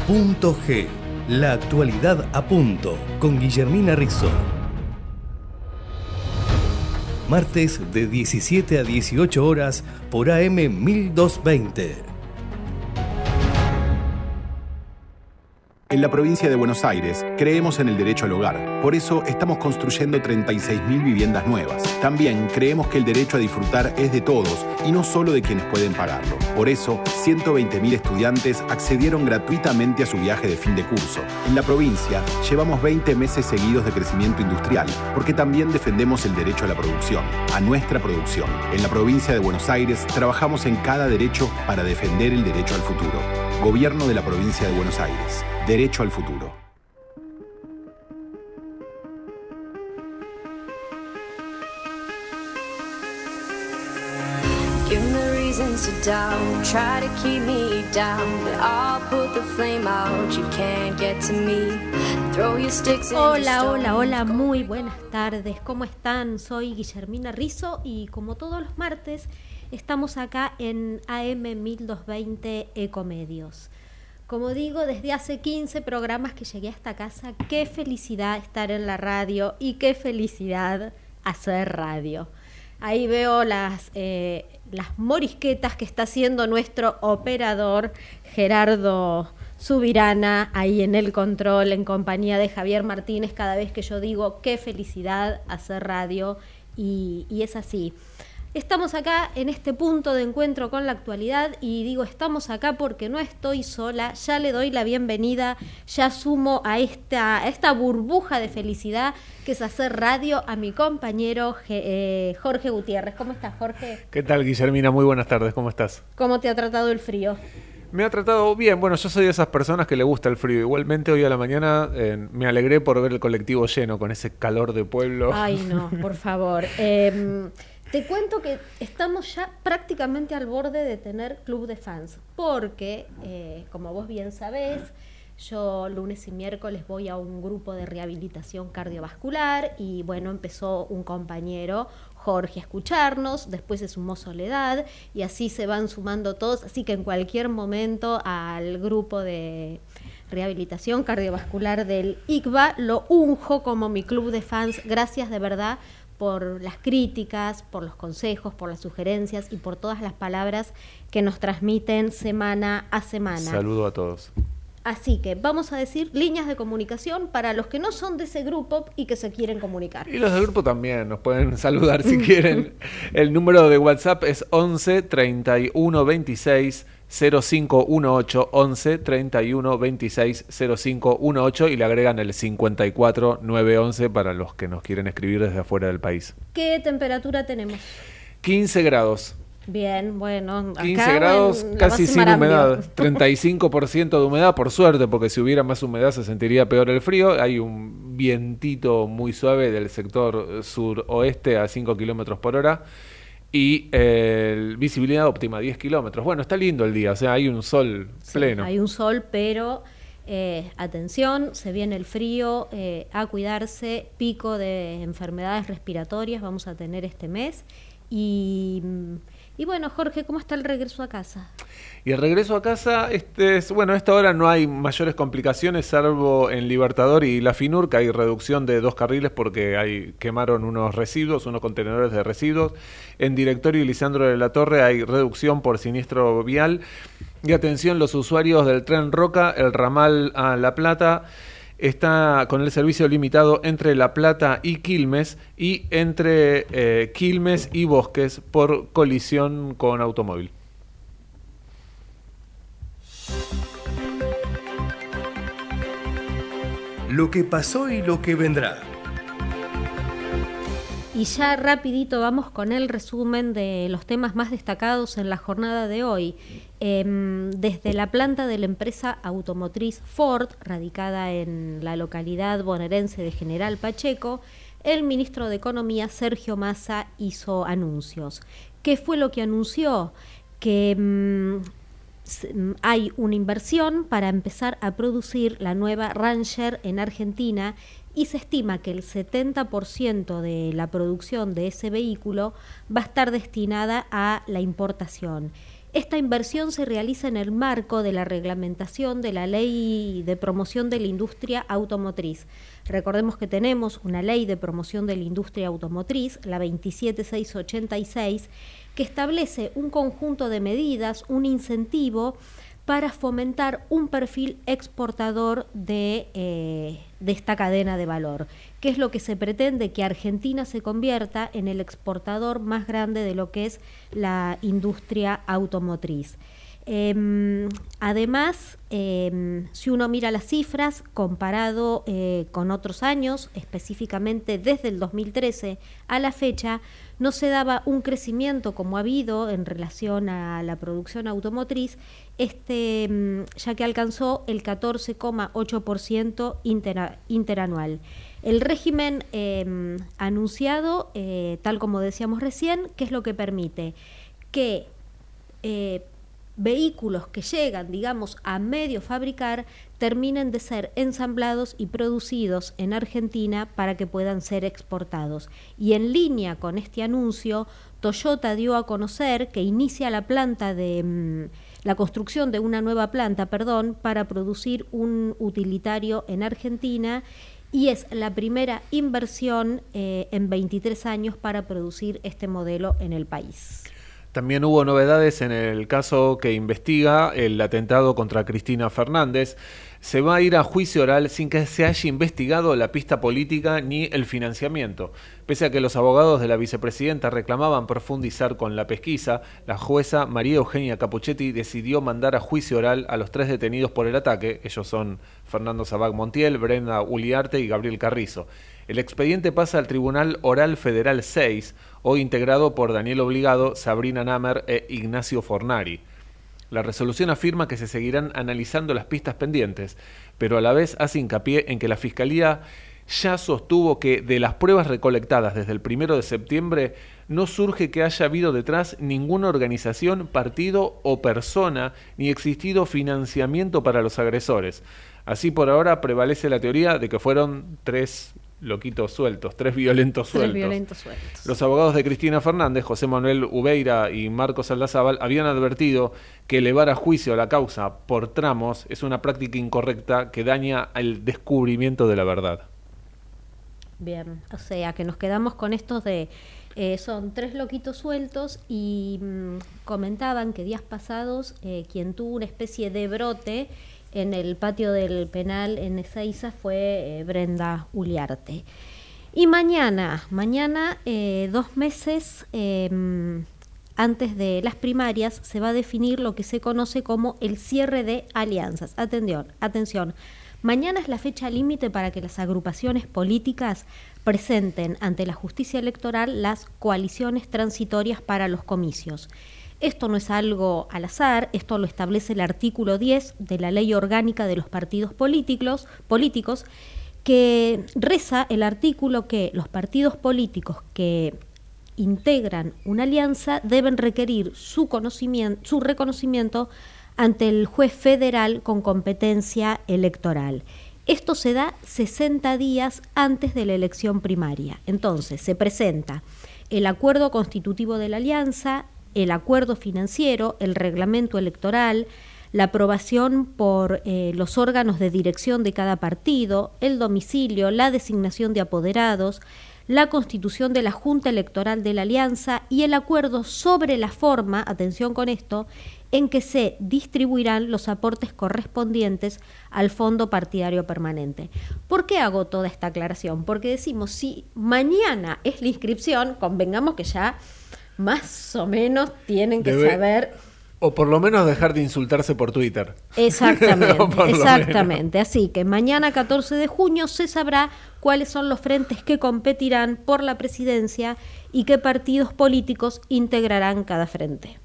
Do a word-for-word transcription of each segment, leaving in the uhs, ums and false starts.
Punto G, la actualidad a punto, con Guillermina Rizzo. Martes de diecisiete a dieciocho horas por A M mil doscientos veinte. En la provincia de Buenos Aires creemos en el derecho al hogar. Por eso estamos construyendo treinta y seis mil viviendas nuevas. También creemos que el derecho a disfrutar es de todos y no solo de quienes pueden pagarlo. Por eso, ciento veinte mil estudiantes accedieron gratuitamente a su viaje de fin de curso. En la provincia llevamos veinte meses seguidos de crecimiento industrial, porque también defendemos el derecho a la producción, a nuestra producción. En la provincia de Buenos Aires trabajamos en cada derecho para defender el derecho al futuro. Gobierno de la provincia de Buenos Aires. Derecho al futuro. Give me reasons to doubt, try to keep me down, but I'll put the flame out, you can't get to me. Throw your sticks in Hola, the hola, hola, muy buenas tardes. ¿Cómo están? Soy Guillermina Rizzo y como todos los martes estamos acá en A M mil doscientos veinte Ecomedios. Como digo, desde hace quince programas que llegué a esta casa, qué felicidad estar en la radio y qué felicidad hacer radio. Ahí veo las, eh, las morisquetas que está haciendo nuestro operador Gerardo Subirana, ahí en el control, en compañía de Javier Martínez, cada vez que yo digo qué felicidad hacer radio, y, y es así. Estamos acá en este punto de encuentro con la actualidad y digo estamos acá porque no estoy sola, ya le doy la bienvenida, ya sumo a esta, a esta burbuja de felicidad que es hacer radio a mi compañero eh, Jorge Gutiérrez. ¿Cómo estás, Jorge? ¿Qué tal, Guillermina? Muy buenas tardes, ¿cómo estás? ¿Cómo te ha tratado el frío? Me ha tratado bien, bueno, yo soy de esas personas que le gusta el frío. Igualmente hoy a la mañana eh, me alegré por ver el colectivo lleno con ese calor de pueblo. Ay, no, por favor. Eh, Te cuento que estamos ya prácticamente al borde de tener club de fans, porque, eh, como vos bien sabés, yo lunes y miércoles voy a un grupo de rehabilitación cardiovascular y, bueno, empezó un compañero, Jorge, a escucharnos, después se sumó Soledad y así se van sumando todos, así que en cualquier momento al grupo de rehabilitación cardiovascular del I C V A lo unjo como mi club de fans. Gracias de verdad por las críticas, por los consejos, por las sugerencias y por todas las palabras que nos transmiten semana a semana. Saludo a todos. Así que vamos a decir líneas de comunicación para los que no son de ese grupo y que se quieren comunicar. Y los del grupo también nos pueden saludar si quieren. El número de WhatsApp es once treinta y uno veintiséis cero cinco dieciocho, once treinta y uno veintiséis cero cinco dieciocho y le agregan el cincuenta y cuatro nueve once para los que nos quieren escribir desde afuera del país. ¿Qué temperatura tenemos? quince grados. Bien, bueno, acá quince grados, en casi sin Marambio. humedad, treinta y cinco por ciento de humedad, por suerte, porque si hubiera más humedad se sentiría peor el frío. Hay un vientito muy suave del sector suroeste a cinco kilómetros por hora y eh, visibilidad óptima, diez kilómetros. Bueno, está lindo el día, o sea, hay un sol Sí, pleno. hay un sol, pero eh, atención, se viene el frío, eh, a cuidarse, pico de enfermedades respiratorias vamos a tener este mes. Y... Y bueno, Jorge, ¿cómo está el regreso a casa? Y el regreso a casa, este es, bueno, a esta hora no hay mayores complicaciones, salvo en Libertador y La Finur, que hay reducción de dos carriles porque hay, quemaron unos residuos, unos contenedores de residuos. En Directorio y Lisandro de la Torre hay reducción por siniestro vial. Y atención, los usuarios del tren Roca, el ramal a La Plata, está con el servicio limitado entre La Plata y Quilmes y entre eh, Quilmes y Bosques por colisión con automóvil. Lo que pasó y lo que vendrá. Y ya rapidito vamos con el resumen de los temas más destacados en la jornada de hoy. Eh, desde la planta de la empresa automotriz Ford, radicada en la localidad bonaerense de General Pacheco, el ministro de Economía, Sergio Massa, hizo anuncios. ¿Qué fue lo que anunció? Que mm, hay una inversión para empezar a producir la nueva Ranger en Argentina y se estima que el setenta por ciento de la producción de ese vehículo va a estar destinada a la importación. Esta inversión se realiza en el marco de la reglamentación de la Ley de Promoción de la Industria Automotriz. Recordemos que tenemos una Ley de Promoción de la Industria Automotriz, la veintisiete mil seiscientos ochenta y seis, que establece un conjunto de medidas, un incentivo para fomentar un perfil exportador de, eh, de esta cadena de valor. ¿Qué es lo que se pretende? Que Argentina se convierta en el exportador más grande de lo que es la industria automotriz. Eh, además, eh, si uno mira las cifras comparado eh, con otros años, específicamente desde el dos mil trece a la fecha, no se daba un crecimiento como ha habido en relación a la producción automotriz, este, ya que alcanzó el catorce coma ocho por ciento intera, interanual. El régimen eh, anunciado, eh, tal como decíamos recién, ¿qué es lo que permite? Que eh, vehículos que llegan, digamos, a medio fabricar, terminen de ser ensamblados y producidos en Argentina para que puedan ser exportados. Y en línea con este anuncio, Toyota dio a conocer que inicia la planta de mmm, la construcción de una nueva planta, perdón, para producir un utilitario en Argentina, y es la primera inversión eh, en veintitrés años para producir este modelo en el país. También hubo novedades en el caso que investiga el atentado contra Cristina Fernández. Se va a ir a juicio oral sin que se haya investigado la pista política ni el financiamiento. Pese a que los abogados de la vicepresidenta reclamaban profundizar con la pesquisa, la jueza María Eugenia Capuchetti decidió mandar a juicio oral a los tres detenidos por el ataque. Ellos son Fernando Sabac Montiel, Brenda Uliarte y Gabriel Carrizo. El expediente pasa al Tribunal Oral Federal seis, hoy integrado por Daniel Obligado, Sabrina Namer e Ignacio Fornari. La resolución afirma que se seguirán analizando las pistas pendientes, pero a la vez hace hincapié en que la Fiscalía ya sostuvo que de las pruebas recolectadas desde el primero de septiembre no surge que haya habido detrás ninguna organización, partido o persona, ni existido financiamiento para los agresores. Así, por ahora prevalece la teoría de que fueron tres loquitos sueltos, tres violentos sueltos. Tres violentos sueltos. Los abogados de Cristina Fernández, José Manuel Ubeira y Marcos Aldazábal, habían advertido que elevar a juicio la causa por tramos es una práctica incorrecta que daña el descubrimiento de la verdad. Bien, o sea que nos quedamos con estos de... Eh, son tres loquitos sueltos y mmm, comentaban que días pasados eh, quien tuvo una especie de brote en el patio del penal en Ezeiza fue eh, Brenda Uliarte. Y mañana, mañana eh, dos meses eh, antes de las primarias, se va a definir lo que se conoce como el cierre de alianzas. Atención, atención. Mañana es la fecha límite para que las agrupaciones políticas presenten ante la justicia electoral las coaliciones transitorias para los comicios. Esto no es algo al azar, esto lo establece el artículo diez de la Ley Orgánica de los Partidos Políticos, políticos, que reza el artículo que los partidos políticos que integran una alianza deben requerir su conocimiento, su reconocimiento ante el juez federal con competencia electoral. Esto se da sesenta días antes de la elección primaria. Entonces, se presenta el acuerdo constitutivo de la alianza, el acuerdo financiero, el reglamento electoral, la aprobación por eh, los órganos de dirección de cada partido, el domicilio, la designación de apoderados, la constitución de la Junta Electoral de la Alianza y el acuerdo sobre la forma, atención con esto, en que se distribuirán los aportes correspondientes al Fondo Partidario Permanente. ¿Por qué hago toda esta aclaración? Porque decimos, si mañana es la inscripción, convengamos que ya más o menos tienen que Debe, saber... O por lo menos dejar de insultarse por Twitter. Exactamente, exactamente. Así que mañana catorce de junio se sabrá cuáles son los frentes que competirán por la presidencia y qué partidos políticos integrarán cada frente.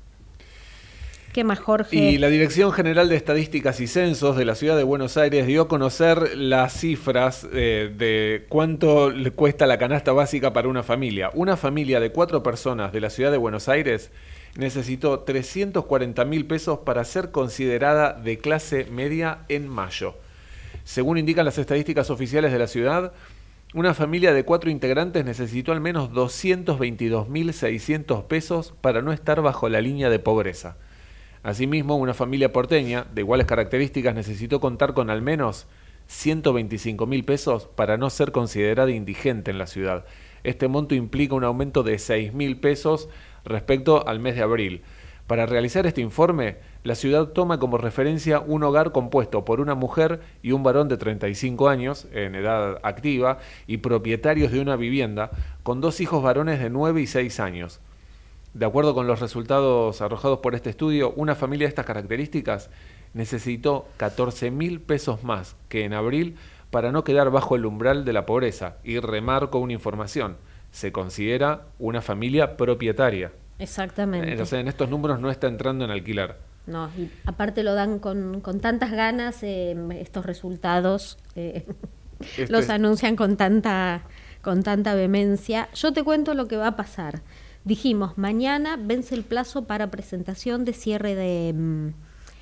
¿Qué más, Jorge? Y la Dirección General de Estadísticas y Censos de la Ciudad de Buenos Aires dio a conocer las cifras eh, de cuánto le cuesta la canasta básica para una familia. Una familia de cuatro personas de la Ciudad de Buenos Aires necesitó trescientos cuarenta mil pesos para ser considerada de clase media en mayo. Según indican las estadísticas oficiales de la ciudad, una familia de cuatro integrantes necesitó al menos doscientos veintidós mil seiscientos pesos para no estar bajo la línea de pobreza. Asimismo, una familia porteña de iguales características necesitó contar con al menos ciento veinticinco mil pesos para no ser considerada indigente en la ciudad. Este monto implica un aumento de seis mil pesos respecto al mes de abril. Para realizar este informe, la ciudad toma como referencia un hogar compuesto por una mujer y un varón de treinta y cinco años, en edad activa, y propietarios de una vivienda, con dos hijos varones de nueve y seis años. De acuerdo con los resultados arrojados por este estudio, una familia de estas características necesitó catorce mil pesos más que en abril para no quedar bajo el umbral de la pobreza. Y remarco una información: se considera una familia propietaria. Exactamente. Entonces, en estos números no está entrando en alquilar. No, y aparte lo dan con, con tantas ganas, eh, estos resultados eh, este... los anuncian con tanta, con tanta vehemencia. Yo te cuento lo que va a pasar. Dijimos, mañana vence el plazo para presentación de cierre de,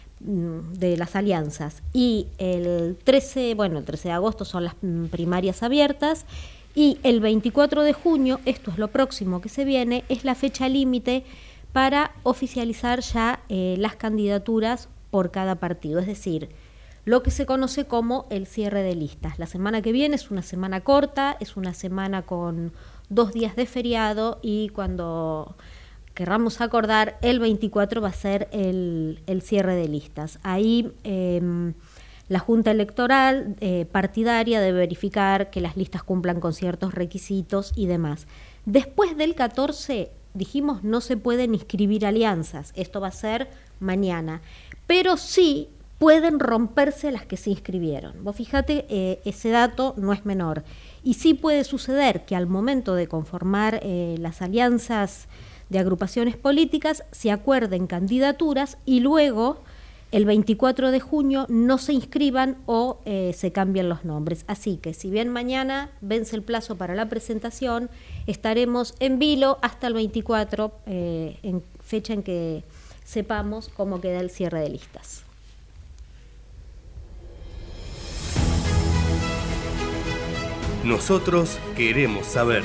de las alianzas. Y el trece, bueno, el trece de agosto son las primarias abiertas. Y el veinticuatro de junio, esto es lo próximo que se viene, es la fecha límite para oficializar ya eh, las candidaturas por cada partido. Es decir, lo que se conoce como el cierre de listas. La semana que viene es una semana corta, es una semana con dos días de feriado, y cuando querramos acordar, el veinticuatro va a ser el, el cierre de listas. Ahí eh, la Junta Electoral eh, partidaria debe verificar que las listas cumplan con ciertos requisitos y demás. Después del catorce, dijimos, no se pueden inscribir alianzas. Esto va a ser mañana. Pero sí pueden romperse las que se inscribieron. Vos fíjate, eh, ese dato no es menor. Y sí puede suceder que al momento de conformar eh, las alianzas de agrupaciones políticas se acuerden candidaturas y luego el veinticuatro de junio no se inscriban o eh, se cambien los nombres. Así que si bien mañana vence el plazo para la presentación, estaremos en vilo hasta el veinticuatro, eh, en fecha en que sepamos cómo queda el cierre de listas. Nosotros queremos saber.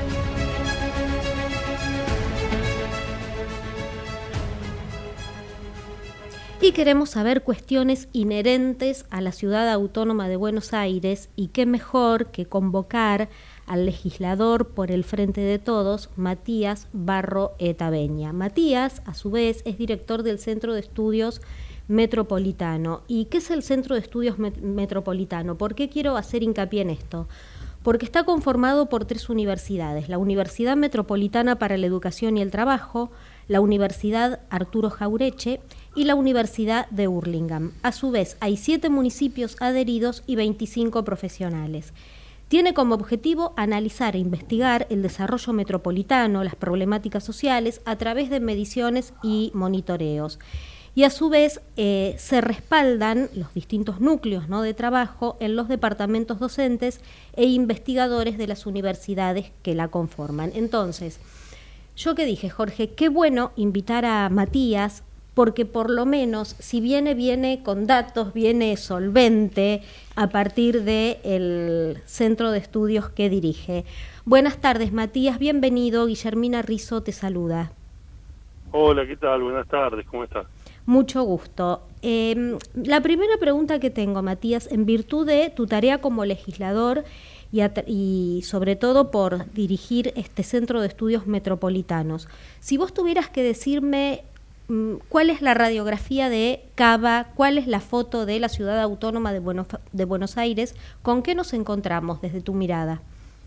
Y queremos saber cuestiones inherentes a la Ciudad Autónoma de Buenos Aires, y qué mejor que convocar al legislador por el Frente de Todos, Matías Barro Etabeña. Matías, a su vez, es director del Centro de Estudios Metropolitano. ¿Y qué es el Centro de Estudios Met- Metropolitano? ¿Por qué quiero hacer hincapié en esto? Porque está conformado por tres universidades: la Universidad Metropolitana para la Educación y el Trabajo, la Universidad Arturo Jaureche y la Universidad de Hurlingham. A su vez, hay siete municipios adheridos y veinticinco profesionales. Tiene como objetivo analizar e investigar el desarrollo metropolitano, las problemáticas sociales, a través de mediciones y monitoreos. Y a su vez eh, se respaldan los distintos núcleos, ¿no?, de trabajo en los departamentos docentes e investigadores de las universidades que la conforman. Entonces, yo que dije, Jorge, qué bueno invitar a Matías, porque por lo menos, si viene, viene con datos, viene solvente a partir del centro de estudios que dirige. Buenas tardes, Matías, bienvenido. Guillermina Rizo te saluda. Hola, ¿qué tal? Buenas tardes, ¿cómo estás? Mucho gusto. Eh, la primera pregunta que tengo, Matías, en virtud de tu tarea como legislador y, a, y sobre todo por dirigir este Centro de Estudios Metropolitanos, si vos tuvieras que decirme cuál es la radiografía de Cava, cuál es la foto de la Ciudad Autónoma de Buenos, de Buenos Aires, ¿con qué nos encontramos desde tu mirada?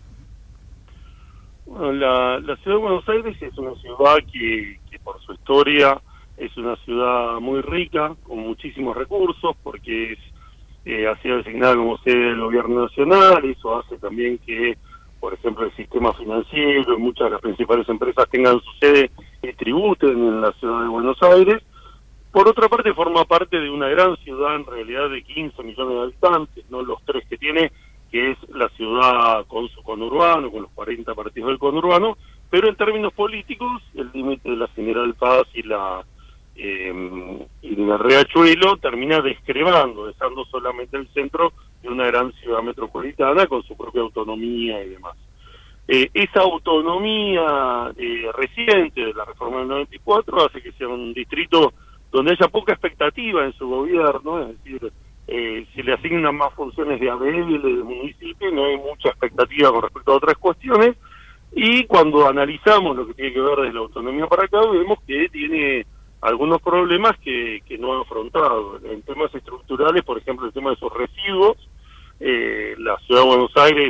Bueno, la, la Ciudad de Buenos Aires es una ciudad que, que por su historia es una ciudad muy rica, con muchísimos recursos, porque es, eh, ha sido designada como sede del gobierno nacional. Eso hace también que, por ejemplo, el sistema financiero y muchas de las principales empresas tengan su sede y tributen en la Ciudad de Buenos Aires. Por otra parte, forma parte de una gran ciudad, en realidad de quince millones de habitantes, no los tres que tiene, que es la ciudad con su conurbano, con los cuarenta partidos del conurbano, pero en términos políticos, el límite de la General Paz y la eh, y la Riachuelo termina descrevando, dejando solamente el centro de una gran ciudad metropolitana con su propia autonomía y demás. Eh, esa autonomía eh, reciente de la reforma del noventa y cuatro hace que sea un distrito donde haya poca expectativa en su gobierno, es decir, eh, se le asignan más funciones de A B L, de municipio, no hay mucha expectativa con respecto a otras cuestiones, y cuando analizamos lo que tiene que ver desde la autonomía para acá, vemos que tiene algunos problemas que, que no ha afrontado. En temas estructurales, por ejemplo, el tema de sus residuos, eh, la Ciudad de Buenos Aires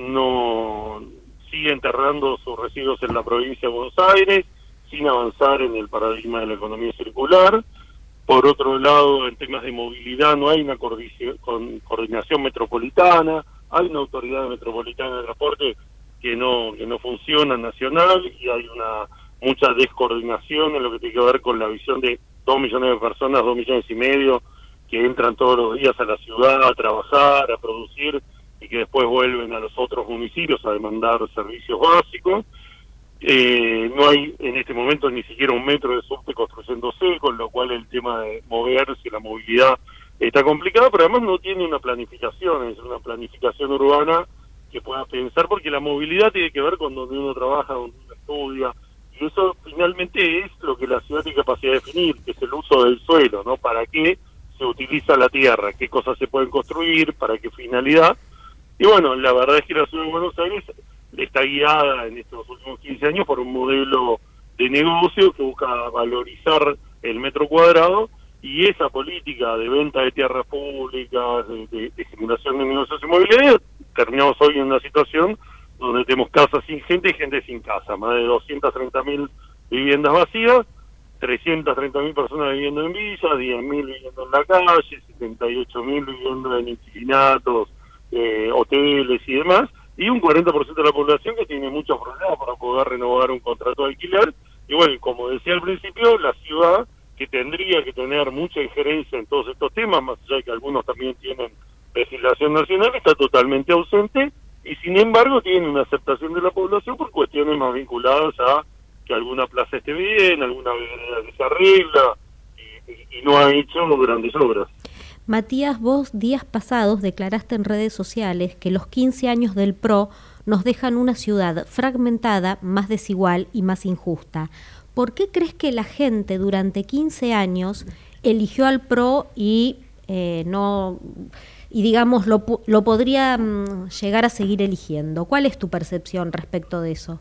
no sigue enterrando sus residuos en la provincia de Buenos Aires, sin avanzar en el paradigma de la economía circular. Por otro lado, en temas de movilidad no hay una coordinación metropolitana, hay una autoridad metropolitana de transporte que no que no funciona nacional, y hay una mucha descoordinación en lo que tiene que ver con la visión de dos millones de personas, dos millones y medio, que entran todos los días a la ciudad a trabajar, a producir, y que después vuelven a los otros municipios a demandar servicios básicos. Eh, no hay en este momento ni siquiera un metro de subte construyéndose, con lo cual el tema de moverse, la movilidad está complicada, pero además no tiene una planificación, es una planificación urbana que pueda pensar, porque la movilidad tiene que ver con donde uno trabaja, donde uno estudia, y eso finalmente es lo que la ciudad tiene capacidad de definir, que es el uso del suelo, ¿no? ¿Para qué se utiliza la tierra? ¿Qué cosas se pueden construir? ¿Para qué finalidad? Y bueno, la verdad es que la Ciudad de Buenos Aires está guiada en estos últimos quince años por un modelo de negocio que busca valorizar el metro cuadrado, y esa política de venta de tierras públicas, de, de, de generación de negocios inmobiliarios, terminamos hoy en una situación donde tenemos casas sin gente y gente sin casa, más de doscientas treinta mil viviendas vacías, trescientas treinta mil personas viviendo en villas, diez mil viviendo en la calle, setenta y ocho mil viviendo en inquilinatos, eh, hoteles y demás, y un cuarenta por ciento de la población que tiene muchos problemas para poder renovar un contrato de alquiler. Y bueno, como decía al principio, la ciudad, que tendría que tener mucha injerencia en todos estos temas, más allá de que algunos también tienen legislación nacional, está totalmente ausente, y sin embargo tiene una aceptación de la población por cuestiones más vinculadas a que alguna plaza esté bien, alguna vereda que se arregla, y, y, y no ha hecho grandes obras. Matías, vos días pasados declaraste en redes sociales que los quince años del P R O nos dejan una ciudad fragmentada, más desigual y más injusta. ¿Por qué crees que la gente durante quince años eligió al P R O y eh, no y digamos lo, lo podría mm, llegar a seguir eligiendo? ¿Cuál es tu percepción respecto de eso?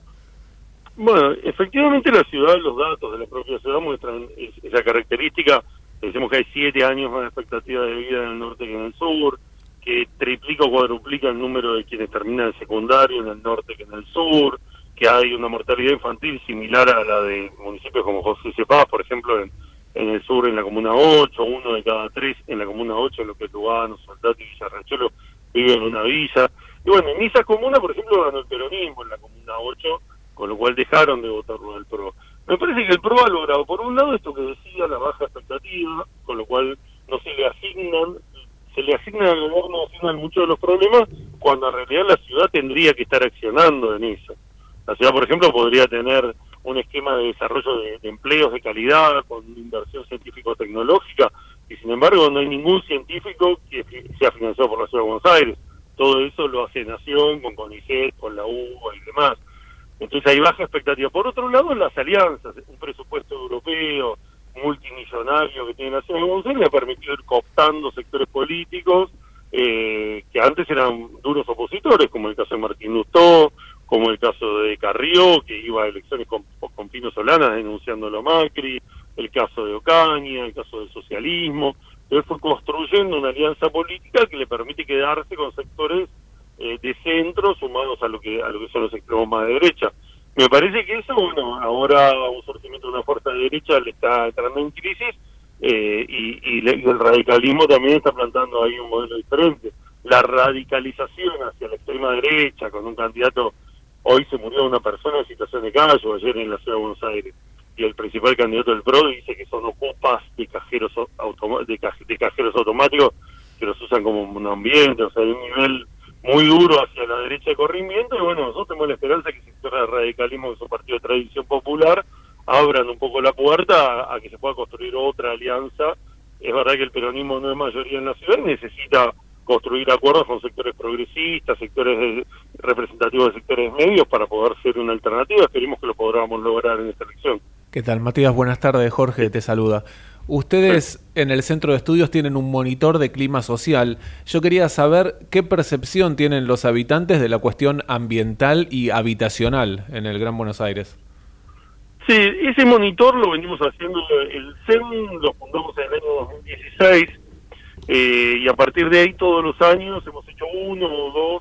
Bueno, efectivamente la ciudad, los datos de la propia ciudad muestran esa característica. Decimos que hay siete años más de expectativa de vida en el norte que en el sur, que triplica o cuadruplica el número de quienes terminan el secundario en el norte que en el sur, que hay una mortalidad infantil similar a la de municipios como José C. Paz, por ejemplo, en, en el sur, en la Comuna ocho, uno de cada tres en la Comuna ocho, en lo que es Lugano, Soldati y Villarriachuelo, vive en una villa. Y bueno, en esa comuna, por ejemplo, ganó el peronismo en la Comuna ocho, con lo cual dejaron de votar por el P R O. Me parece que el P R O ha logrado, por un lado, esto que decía, la baja expectativa, con lo cual no se le asignan, se le asignan al gobierno, asignan muchos de los problemas, cuando en realidad la ciudad tendría que estar accionando en eso. La ciudad, por ejemplo, podría tener un esquema de desarrollo de, de empleos de calidad, con inversión científico-tecnológica, y sin embargo no hay ningún científico que sea financiado por la Ciudad de Buenos Aires. Todo eso lo hace Nación, con CONICET, con la U B A y demás. Entonces hay baja expectativa. Por otro lado, las alianzas, un presupuesto europeo multimillonario que tiene la Ciudad de Buenos Aires le ha permitido ir cooptando sectores políticos eh, que antes eran duros opositores, como el caso de Martín Lustó, como el caso de Carrió, que iba a elecciones con, con Pino Solanas denunciándolo a Macri, el caso de Ocaña, el caso del socialismo. Entonces fue construyendo una alianza política que le permite quedarse con sectores Eh, de centro sumados a lo que a lo que son los extremos más de derecha. Me parece que eso, bueno, ahora un surgimiento de una fuerza de derecha le está entrando en crisis eh, y, y, le, y el radicalismo también está plantando ahí un modelo diferente. La radicalización hacia la extrema derecha, con un candidato, hoy se murió una persona en situación de calle, ayer en la Ciudad de Buenos Aires, y el principal candidato del P R O dice que son ocupas de cajeros automa- de, caj- de cajeros automáticos que los usan como un ambiente, o sea, hay un nivel muy duro hacia la derecha de corrimiento, y bueno, nosotros tenemos la esperanza que sectores de radicalismo, que son partidos de tradición popular, abran un poco la puerta a, a que se pueda construir otra alianza. Es verdad que el peronismo no es mayoría en la ciudad y necesita construir acuerdos con sectores progresistas, sectores de, representativos de sectores medios para poder ser una alternativa. Esperemos que lo podamos lograr en esta elección. ¿Qué tal, Matías? Buenas tardes, Jorge te saluda. Ustedes en el centro de estudios tienen un monitor de clima social. Yo quería saber qué percepción tienen los habitantes de la cuestión ambiental y habitacional en el Gran Buenos Aires. Sí, ese monitor lo venimos haciendo, el C E M lo fundamos en el año dos mil dieciséis, eh, y a partir de ahí todos los años hemos hecho uno o dos,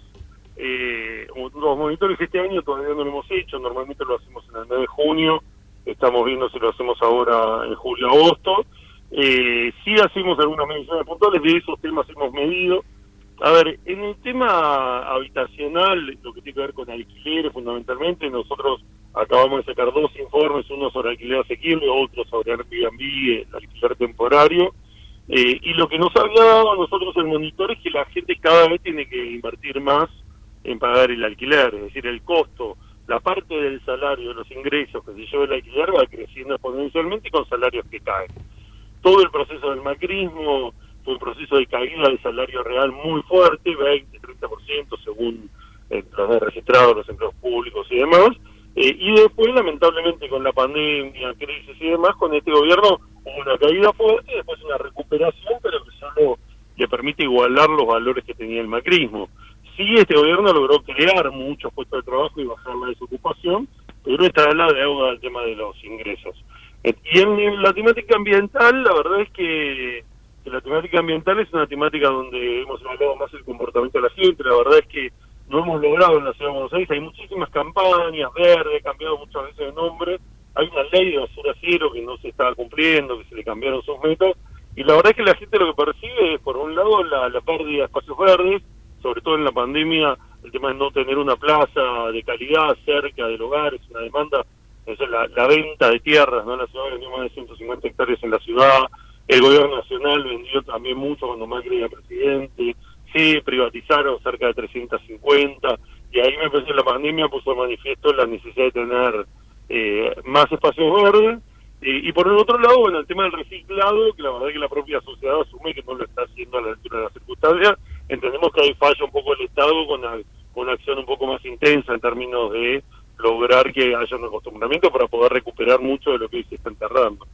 eh, dos monitores. Este año todavía no lo hemos hecho, normalmente lo hacemos en el mes de junio, estamos viendo si lo hacemos ahora en julio, agosto. Eh, sí hacemos algunas mediciones puntuales, de esos temas hemos medido. A ver, en el tema habitacional, lo que tiene que ver con alquileres fundamentalmente, nosotros acabamos de sacar dos informes, uno sobre alquiler asequible, otro sobre Airbnb, el alquiler temporario, eh, y lo que nos había dado a nosotros el monitor es que la gente cada vez tiene que invertir más en pagar el alquiler, es decir, el costo, la parte del salario, de los ingresos que se lleva el alquiler va creciendo exponencialmente y con salarios que caen. Todo el proceso del macrismo fue un proceso de caída del salario real muy fuerte, veinte, treinta por ciento según eh, los registrados, los empleos públicos y demás, eh, y después lamentablemente con la pandemia, crisis y demás, con este gobierno hubo una caída fuerte, después una recuperación, pero que solo le permite igualar los valores que tenía el macrismo. Sí, este gobierno logró crear muchos puestos de trabajo y bajar la desocupación, pero está la deuda del tema de los ingresos. Y en la temática ambiental, la verdad es que la temática ambiental es una temática donde hemos evaluado más el comportamiento de la gente. La verdad es que no hemos logrado en la Ciudad de Buenos Aires, hay muchísimas campañas verdes, ha cambiado muchas veces de nombre, hay una ley de basura cero que no se está cumpliendo, que se le cambiaron sus metas, y la verdad es que la gente lo que percibe es, por un lado, la, la pérdida de espacios verdes, sobre todo en la pandemia, el tema de no tener una plaza de calidad cerca del hogar, es una demanda. Eso es la, la venta de tierras, ¿no? La ciudad vendió más de ciento cincuenta hectáreas en la ciudad, el gobierno nacional vendió también mucho cuando Macri era presidente, se privatizaron cerca de trescientos cincuenta, y ahí me parece que la pandemia puso de manifiesto la necesidad de tener eh, más espacios verdes, eh, y por el otro lado, bueno, el tema del reciclado, que la verdad es que la propia sociedad asume que no lo está haciendo a la altura de las circunstancias. Entendemos que ahí falla un poco el Estado con una, con una acción un poco más intensa en términos de lograr que haya un acostumbramiento para poder recuperar mucho de lo que se está enterrando.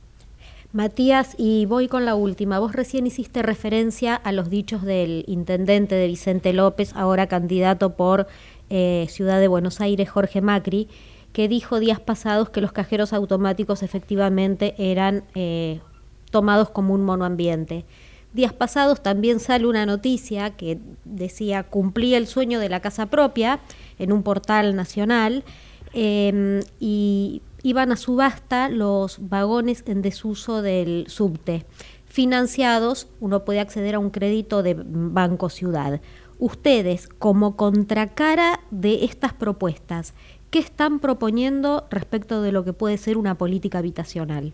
Matías, y voy con la última. Vos recién hiciste referencia a los dichos del intendente de Vicente López, ahora candidato por eh, Ciudad de Buenos Aires, Jorge Macri, que dijo días pasados que los cajeros automáticos efectivamente eran eh, tomados como un monoambiente. Días pasados también sale una noticia que decía cumplí el sueño de la casa propia en un portal nacional, eh, y iban a subasta los vagones en desuso del subte, financiados, uno puede acceder a un crédito de Banco Ciudad. Ustedes, como contracara de estas propuestas, ¿qué están proponiendo respecto de lo que puede ser una política habitacional?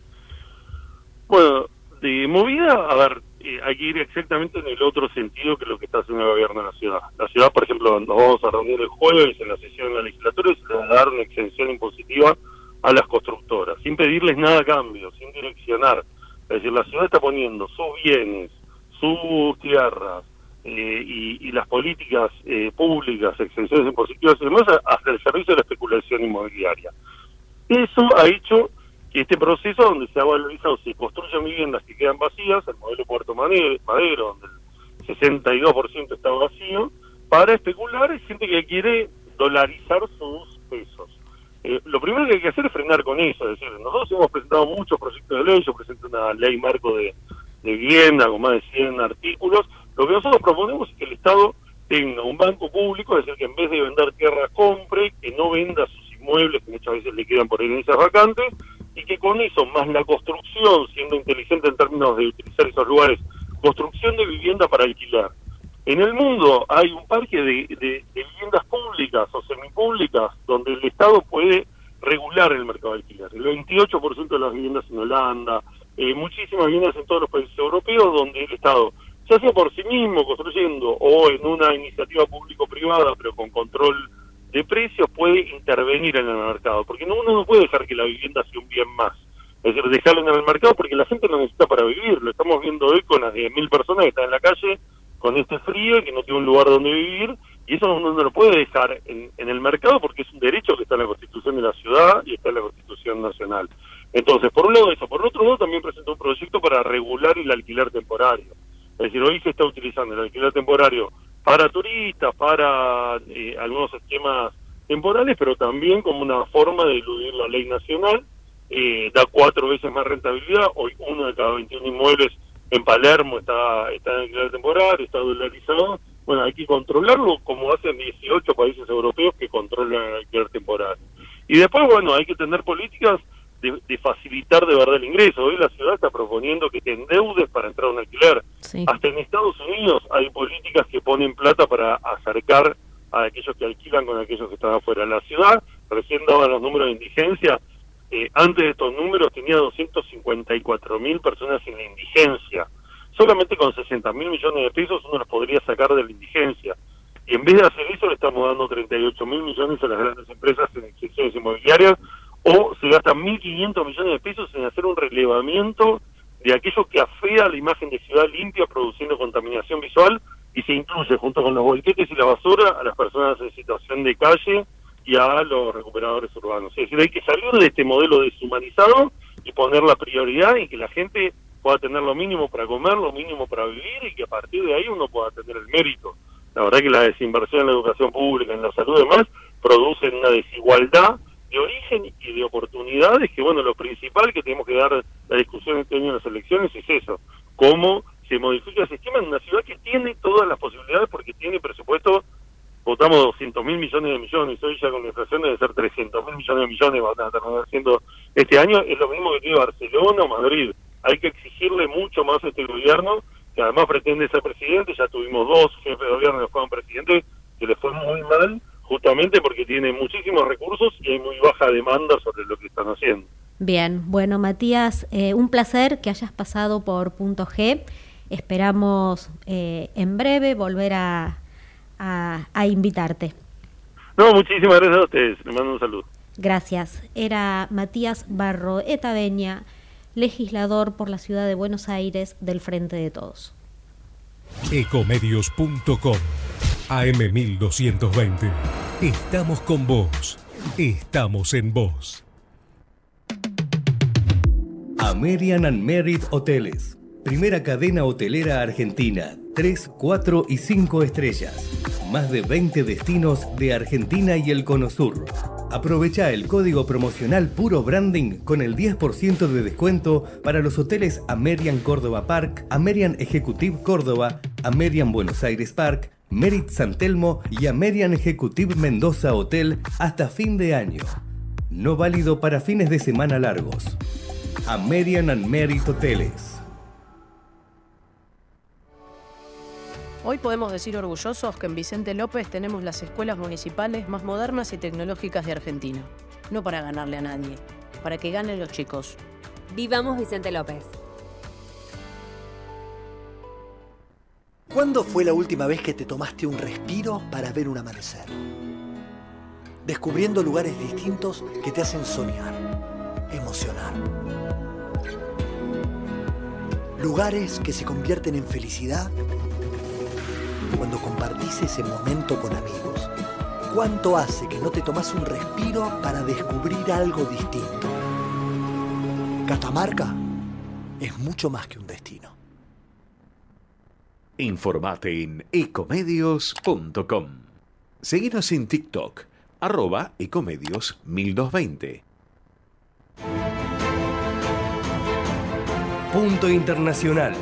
Bueno, de movida, a ver, eh, hay que ir exactamente en el otro sentido que lo que está haciendo el gobierno de la ciudad. La ciudad, por ejemplo, nos vamos a reunir el jueves en la sesión de la legislatura y se le va a dar una exención impositiva a las constructoras, sin pedirles nada a cambio, sin direccionar. Es decir, la ciudad está poniendo sus bienes, sus tierras eh, y, y las políticas eh, públicas, exenciones impositivas y demás, hasta el servicio de la especulación inmobiliaria. Eso ha hecho que este proceso donde se ha valorizado, se construyen viviendas que quedan vacías, el modelo Puerto Madero, donde el sesenta y dos por ciento está vacío, para especular es gente que quiere dolarizar sus pesos. Eh, lo primero que hay que hacer es frenar con eso, es decir, nosotros hemos presentado muchos proyectos de ley, yo presenté una ley marco de, de vivienda con más de cien artículos. Lo que nosotros proponemos es que el Estado tenga un banco público, es decir, que en vez de vender tierra compre, que no venda sus inmuebles, que muchas veces le quedan por herencias vacantes, y que con eso, más la construcción, siendo inteligente en términos de utilizar esos lugares, construcción de vivienda para alquilar. En el mundo hay un parque de, de, de viviendas públicas o semipúblicas donde el Estado puede regular el mercado de alquiler. El veintiocho por ciento de las viviendas en Holanda, eh, muchísimas viviendas en todos los países europeos donde el Estado, ya sea por sí mismo construyendo o en una iniciativa público-privada pero con control de precios, puede intervenir en el mercado. Porque no, uno no puede dejar que la vivienda sea un bien más. Es decir, dejarlo en el mercado porque la gente lo necesita para vivir. Lo estamos viendo hoy con las diez mil personas que están en la calle con este frío y que no tiene un lugar donde vivir, y eso uno no lo puede dejar en, en el mercado porque es un derecho que está en la Constitución de la ciudad y está en la Constitución nacional. Entonces, por un lado eso, por otro lado también presentó un proyecto para regular el alquiler temporario. Es decir, hoy se está utilizando el alquiler temporario para turistas, para eh, algunos esquemas temporales, pero también como una forma de eludir la ley nacional. Eh, da cuatro veces más rentabilidad. Hoy uno de cada veintiún inmuebles en Palermo está, está en alquiler temporario, está dolarizado. Bueno, hay que controlarlo como hacen dieciocho países europeos que controlan el alquiler temporario. Y después, bueno, hay que tener políticas de, de facilitar de verdad el ingreso. Hoy la ciudad está proponiendo que te endeudes para entrar a un alquiler. Sí. Hasta en Estados Unidos hay políticas que ponen plata para acercar a aquellos que alquilan con aquellos que están afuera. La ciudad, recién daban los números de indigencia, eh, antes de estos números tenía doscientos cincuenta y cuatro mil personas en la indigencia. Solamente con sesenta mil millones de pesos uno los podría sacar de la indigencia. Y en vez de hacer eso le estamos dando treinta y ocho mil millones a las grandes empresas en exenciones inmobiliarias, o se gastan mil quinientos millones de pesos en hacer un relevamiento de aquello que afea la imagen de ciudad limpia, produciendo contaminación visual, y se incluye junto con los bolquetes y la basura a las personas en situación de calle y a los recuperadores urbanos. Es decir, hay que salir de este modelo deshumanizado y poner la prioridad en que la gente pueda tener lo mínimo para comer, lo mínimo para vivir, y que a partir de ahí uno pueda tener el mérito. La verdad que la desinversión en la educación pública, en la salud y demás, producen una desigualdad de origen y de oportunidades, que bueno, lo principal que tenemos que dar la discusión este año en las elecciones es eso, cómo se modifica el sistema en una ciudad que tiene todas las posibilidades, porque tiene presupuesto. Votamos doscientos mil millones de millones, hoy ya con la inflación debe ser trescientos mil millones de millones, van a terminar haciendo este año. Es lo mismo que tiene Barcelona o Madrid. Hay que exigirle mucho más a este gobierno, que además pretende ser presidente. Ya tuvimos dos jefes de gobierno que fueron presidentes, que les fue muy mal, justamente porque tienen muchísimos recursos y hay muy baja demanda sobre lo que están haciendo. Bien, bueno, Matías, eh, un placer que hayas pasado por Punto G. Esperamos eh, en breve volver a, a, a invitarte. No, muchísimas gracias a ustedes. Les mando un saludo. Gracias. Era Matías Barroeta Beña, legislador por la ciudad de Buenos Aires del Frente de Todos. Ecomedios punto com, A M mil doscientos veinte. Estamos con vos. Estamos en vos. American and Merit Hoteles. Primera cadena hotelera argentina. tres, cuatro y cinco estrellas. Más de veinte destinos de Argentina y el Cono Sur. Aprovecha el código promocional Puro Branding con el diez por ciento de descuento para los hoteles American Córdoba Park, American Executive Córdoba, American Buenos Aires Park, Merit San Telmo y American Executive Mendoza Hotel hasta fin de año. No válido para fines de semana largos. American and Merit Hoteles. Hoy podemos decir orgullosos que en Vicente López tenemos las escuelas municipales más modernas y tecnológicas de Argentina. No para ganarle a nadie, para que ganen los chicos. Vivamos Vicente López. ¿Cuándo fue la última vez que te tomaste un respiro para ver un amanecer? Descubriendo lugares distintos que te hacen soñar, emocionar. Lugares que se convierten en felicidad cuando compartís ese momento con amigos. ¿Cuánto hace que no te tomás un respiro para descubrir algo distinto? Catamarca es mucho más que un destino. Informate en ecomedios punto com. Seguinos en TikTok, arroba ecomedios mil doscientos veinte. Punto Internacional.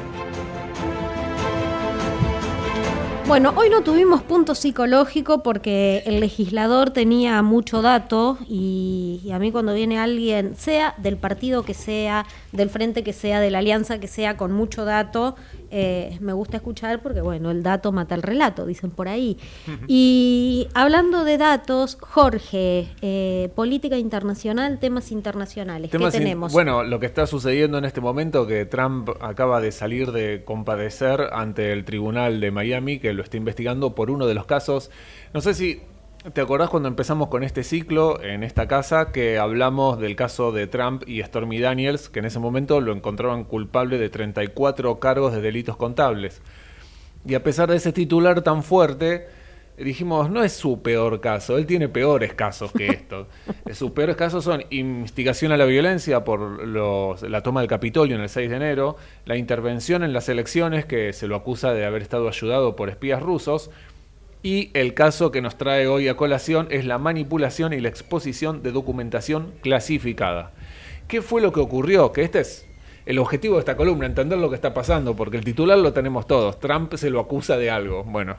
Bueno, hoy no tuvimos punto psicológico porque el legislador tenía mucho dato y, y a mí cuando viene alguien, sea del partido que sea, del frente que sea, de la alianza que sea, con mucho dato, eh, me gusta escuchar porque, bueno, el dato mata el relato, dicen por ahí. Uh-huh. Y hablando de datos, Jorge, eh, política internacional, temas internacionales, temas ¿qué tenemos? In- bueno, lo que está sucediendo en este momento, que Trump acaba de salir de comparecer ante el tribunal de Miami, que lo está investigando por uno de los casos. No sé si te acordás cuando empezamos con este ciclo en esta casa, que hablamos del caso de Trump y Stormy Daniels, que en ese momento lo encontraban culpable de treinta y cuatro cargos de delitos contables. Y a pesar de ese titular tan fuerte, dijimos, no es su peor caso, él tiene peores casos que esto. Sus peores casos son instigación a la violencia por los, la toma del Capitolio en el seis de enero, la intervención en las elecciones, que se lo acusa de haber estado ayudado por espías rusos, y el caso que nos trae hoy a colación es la manipulación y la exposición de documentación clasificada. ¿Qué fue lo que ocurrió? Que este es el objetivo de esta columna, entender lo que está pasando, porque el titular lo tenemos todos, Trump se lo acusa de algo. Bueno,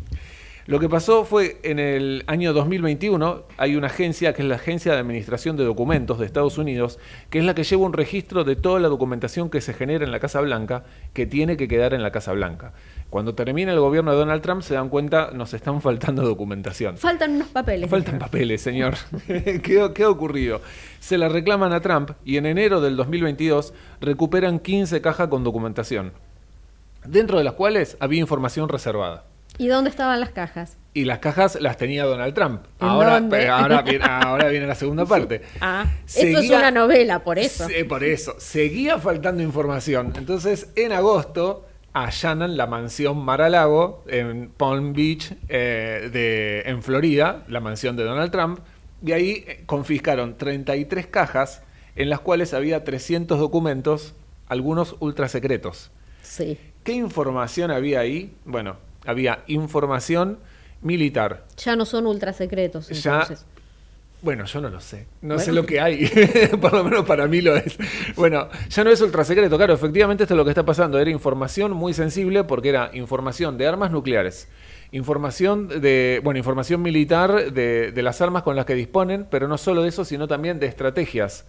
lo que pasó fue en el año dos mil veintiuno, hay una agencia que es la Agencia de Administración de Documentos de Estados Unidos, que es la que lleva un registro de toda la documentación que se genera en la Casa Blanca, que tiene que quedar en la Casa Blanca. Cuando termina el gobierno de Donald Trump se dan cuenta, nos están faltando documentación. Faltan unos papeles. Faltan papeles, señor. ¿Qué, ¿Qué ha ocurrido? Se la reclaman a Trump y en enero del dos mil veintidós recuperan quince cajas con documentación, dentro de las cuales había información reservada. ¿Y dónde estaban las cajas? Y las cajas las tenía Donald Trump. ¿En ahora, dónde? ahora, viene, ahora viene la segunda parte. Ah, Seguía, esto es una novela, por eso. Se, por eso. Seguía faltando información. Entonces, en agosto, allanan la mansión Mar-a-Lago en Palm Beach, eh, de, en Florida, la mansión de Donald Trump, y ahí confiscaron treinta y tres cajas en las cuales había trescientos documentos, algunos ultrasecretos. Sí. ¿Qué información había ahí? Bueno, había información militar. Ya no son ultrasecretos, entonces. Ya, bueno, yo no lo sé. No bueno. sé lo que hay. Por lo menos para mí lo es. Bueno, ya no es ultrasecreto. Claro, efectivamente esto es lo que está pasando. Era información muy sensible porque era información de armas nucleares. Información de, bueno, información militar de, de las armas con las que disponen, pero no solo de eso, sino también de estrategias,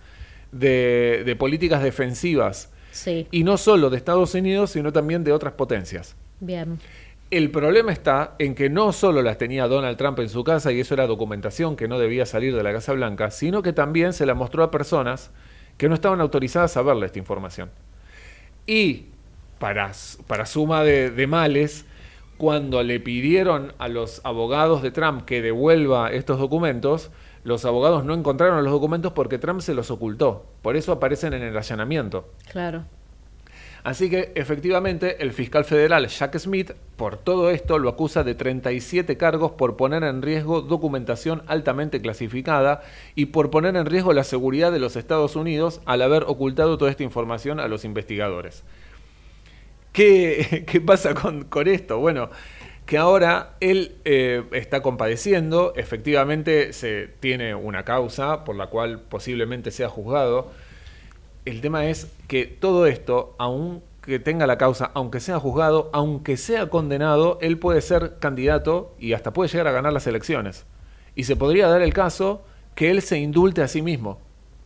de, de políticas defensivas. Sí. Y no solo de Estados Unidos, sino también de otras potencias. Bien. El problema está en que no solo las tenía Donald Trump en su casa, y eso era documentación que no debía salir de la Casa Blanca, sino que también se la mostró a personas que no estaban autorizadas a verle esta información. Y, para, para suma de, de males, cuando le pidieron a los abogados de Trump que devuelva estos documentos, los abogados no encontraron los documentos porque Trump se los ocultó. Por eso aparecen en el allanamiento. Claro. Así que, efectivamente, el fiscal federal Jack Smith, por todo esto, lo acusa de treinta y siete cargos por poner en riesgo documentación altamente clasificada y por poner en riesgo la seguridad de los Estados Unidos al haber ocultado toda esta información a los investigadores. ¿Qué, qué pasa con, con esto? Bueno, que ahora él eh, está compadeciendo, efectivamente se tiene una causa por la cual posiblemente sea juzgado. El tema es que todo esto, aunque tenga la causa, aunque sea juzgado, aunque sea condenado, él puede ser candidato y hasta puede llegar a ganar las elecciones. Y se podría dar el caso que él se indulte a sí mismo.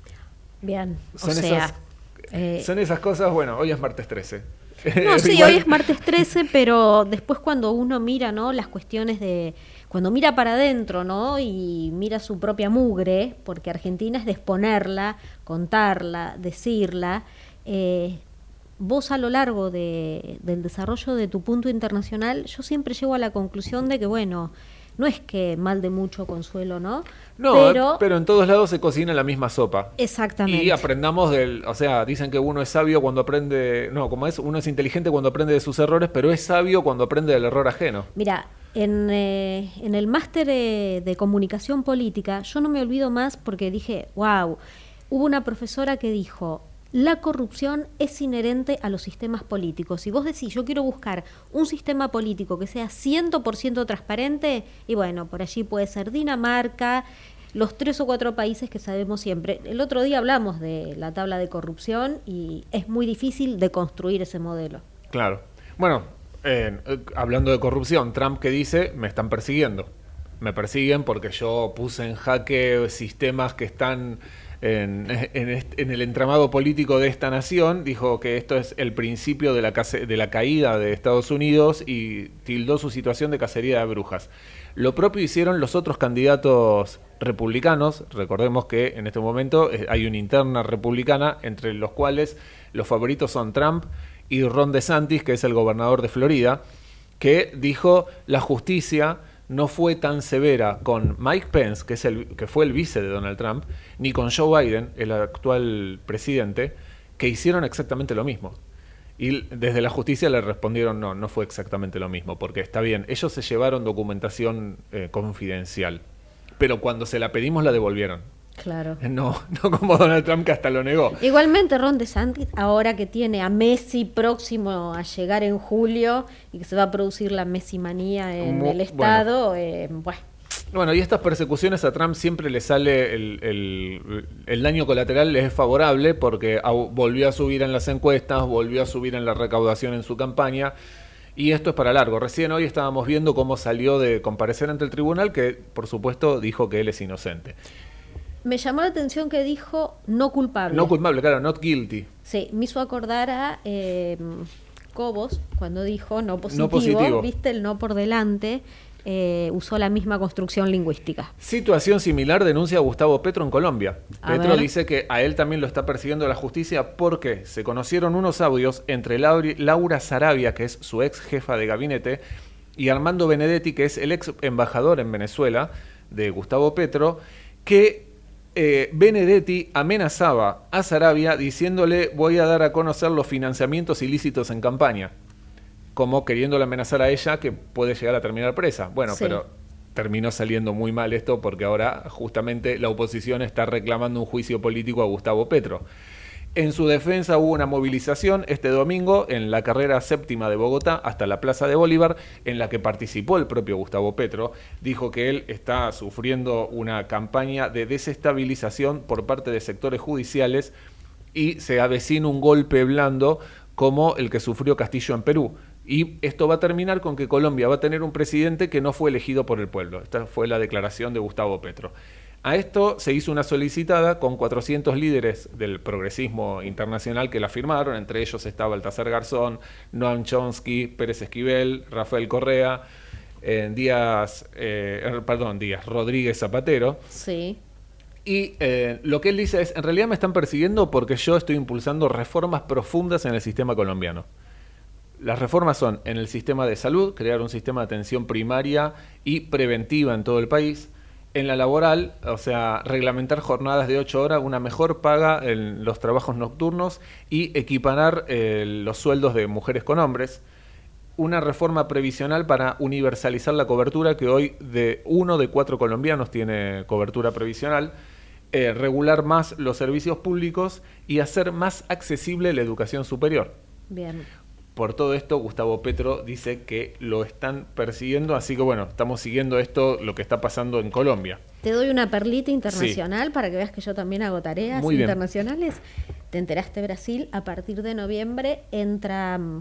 Bien, son o sea... Esas, eh... Son esas cosas, bueno, hoy es martes trece. No, sí, Igual... hoy es martes trece, pero después cuando uno mira, ¿no?, las cuestiones de... Cuando mira para adentro, ¿no?, y mira su propia mugre, porque Argentina es de exponerla, contarla, decirla, eh, vos a lo largo de, del desarrollo de tu punto internacional, yo siempre llego a la conclusión de que, bueno, no es que mal de mucho consuelo, ¿no? No, pero, pero en todos lados se cocina la misma sopa. Exactamente. Y aprendamos del, o sea, dicen que uno es sabio cuando aprende, no, como es, uno es inteligente cuando aprende de sus errores, pero es sabio cuando aprende del error ajeno. Mira, en, eh, en el máster eh, de comunicación política, yo no me olvido más porque dije, wow, hubo una profesora que dijo, la corrupción es inherente a los sistemas políticos. Si vos decís, yo quiero buscar un sistema político que sea cien por ciento transparente, y bueno, por allí puede ser Dinamarca, los tres o cuatro países que sabemos siempre. El otro día hablamos de la tabla de corrupción y es muy difícil de construir ese modelo. Claro. Bueno, eh, hablando de corrupción, Trump que dice, me están persiguiendo. Me persiguen porque yo puse en jaque sistemas que están... En, en, en el entramado político de esta nación, dijo que esto es el principio de la, case, de la caída de Estados Unidos y tildó su situación de cacería de brujas. Lo propio hicieron los otros candidatos republicanos. Recordemos que en este momento hay una interna republicana entre los cuales los favoritos son Trump y Ron DeSantis, que es el gobernador de Florida, que dijo la justicia no fue tan severa con Mike Pence, que es el que fue el vice de Donald Trump, ni con Joe Biden, el actual presidente, que hicieron exactamente lo mismo. Y desde la justicia le respondieron, no, no fue exactamente lo mismo, porque está bien, ellos se llevaron documentación eh, confidencial, pero cuando se la pedimos la devolvieron. Claro. No, no como Donald Trump, que hasta lo negó. Igualmente Ron DeSantis, ahora que tiene a Messi próximo a llegar en julio y que se va a producir la Messi manía en Mu- el estado, bueno. eh, bueno. Bueno, y estas persecuciones a Trump siempre le sale el, el, el daño colateral, les es favorable porque au- volvió a subir en las encuestas, volvió a subir en la recaudación en su campaña, y esto es para largo. Recién hoy estábamos viendo cómo salió de comparecer ante el tribunal, que por supuesto dijo que él es inocente. Me llamó la atención que dijo no culpable. No culpable, claro, not guilty. Sí, me hizo acordar a eh, Cobos cuando dijo no positivo, No positivo. viste el no por delante, eh, usó la misma construcción lingüística. Situación similar denuncia a Gustavo Petro en Colombia. A Petro ver. dice que a él también lo está persiguiendo la justicia porque se conocieron unos audios entre Lauri- Laura Sarabia, que es su ex jefa de gabinete, y Armando Benedetti, que es el ex embajador en Venezuela de Gustavo Petro, que eh, Benedetti amenazaba a Sarabia diciéndole voy a dar a conocer los financiamientos ilícitos en campaña, como queriéndole amenazar a ella que puede llegar a terminar presa. Bueno, Sí. pero terminó saliendo muy mal esto porque ahora justamente la oposición está reclamando un juicio político a Gustavo Petro. En su defensa hubo una movilización este domingo en la carrera séptima de Bogotá hasta la Plaza de Bolívar, en la que participó el propio Gustavo Petro. Dijo que él está sufriendo una campaña de desestabilización por parte de sectores judiciales y se avecina un golpe blando como el que sufrió Castillo en Perú. Y esto va a terminar con que Colombia va a tener un presidente que no fue elegido por el pueblo. Esta fue la declaración de Gustavo Petro. A esto se hizo una solicitada con cuatrocientos líderes del progresismo internacional que la firmaron. Entre ellos estaba Baltasar Garzón, Noam Chomsky, Pérez Esquivel, Rafael Correa, eh, Díaz, eh, perdón, Díaz, Rodríguez Zapatero. Sí. Y eh, lo que él dice es, en realidad me están persiguiendo porque yo estoy impulsando reformas profundas en el sistema colombiano. Las reformas son en el sistema de salud, crear un sistema de atención primaria y preventiva en todo el país. En la laboral, o sea, reglamentar jornadas de ocho horas, una mejor paga en los trabajos nocturnos y equiparar eh, los sueldos de mujeres con hombres. Una reforma previsional para universalizar la cobertura, que hoy de uno de cuatro colombianos tiene cobertura previsional. Eh, regular más los servicios públicos y hacer más accesible la educación superior. Bien. Por todo esto, Gustavo Petro dice que lo están persiguiendo, así que bueno, estamos siguiendo esto, lo que está pasando en Colombia. Te doy una perlita internacional para que veas que yo también hago tareas Muy bien. internacionales. Te enteraste, Brasil, a partir de noviembre entra, mm,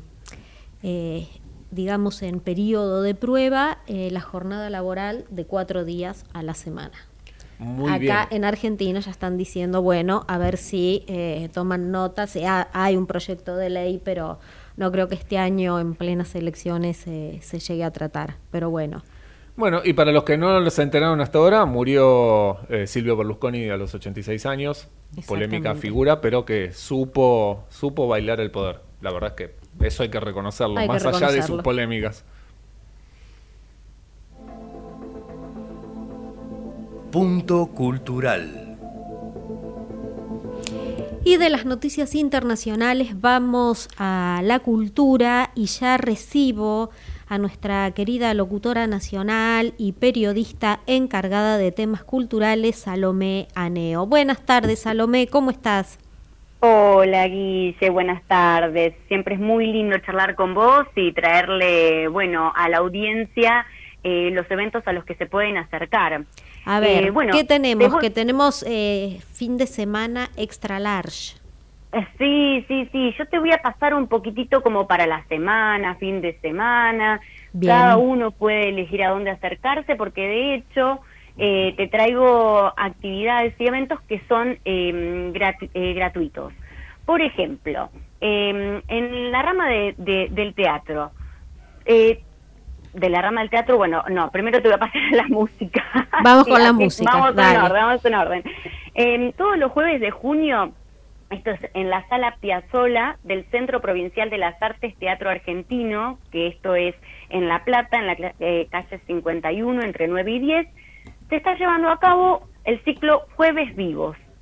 eh, digamos, en periodo de prueba eh, la jornada laboral de cuatro días a la semana. Muy Acá bien. en Argentina ya están diciendo, bueno, a ver si eh, toman nota, si ha- hay un proyecto de ley, pero no creo que este año en plenas elecciones eh, se llegue a tratar, pero bueno. Bueno, y para los que no se enteraron hasta ahora, murió eh, Silvio Berlusconi a los ochenta y seis años, polémica Exactamente. figura, pero que supo, supo bailar el poder. La verdad es que eso hay que reconocerlo, Hay que más allá de reconocerlo. sus polémicas. Punto cultural. Y de las noticias internacionales vamos a la cultura y ya recibo a nuestra querida locutora nacional y periodista encargada de temas culturales, Salomé Aneo. Buenas tardes, Salomé, ¿cómo estás? Hola Guille, buenas tardes. Siempre es muy lindo charlar con vos y traerle, bueno, a la audiencia eh, los eventos a los que se pueden acercar. A ver, Eh, bueno, ¿qué tenemos? te voy- Que tenemos eh, fin de semana extra large. Eh, Sí, sí, sí. Yo te voy a pasar un poquitito como para la semana, fin de semana. Bien. Cada uno puede elegir a dónde acercarse porque de hecho eh, te traigo actividades y eventos que son eh, gratu- eh, gratuitos. Por ejemplo, eh, en la rama de, de- del teatro, eh, de la rama del teatro, bueno, no, primero te voy a pasar a la música. Vamos con la así, música, Vamos dale. en orden, vamos en orden. Eh, todos los jueves de junio, esto es en la Sala Piazzolla del Centro Provincial de las Artes Teatro Argentino, que esto es en La Plata, en la cla- eh, calle cincuenta y uno, entre nueve y diez, se está llevando a cabo el ciclo Jueves Vivos.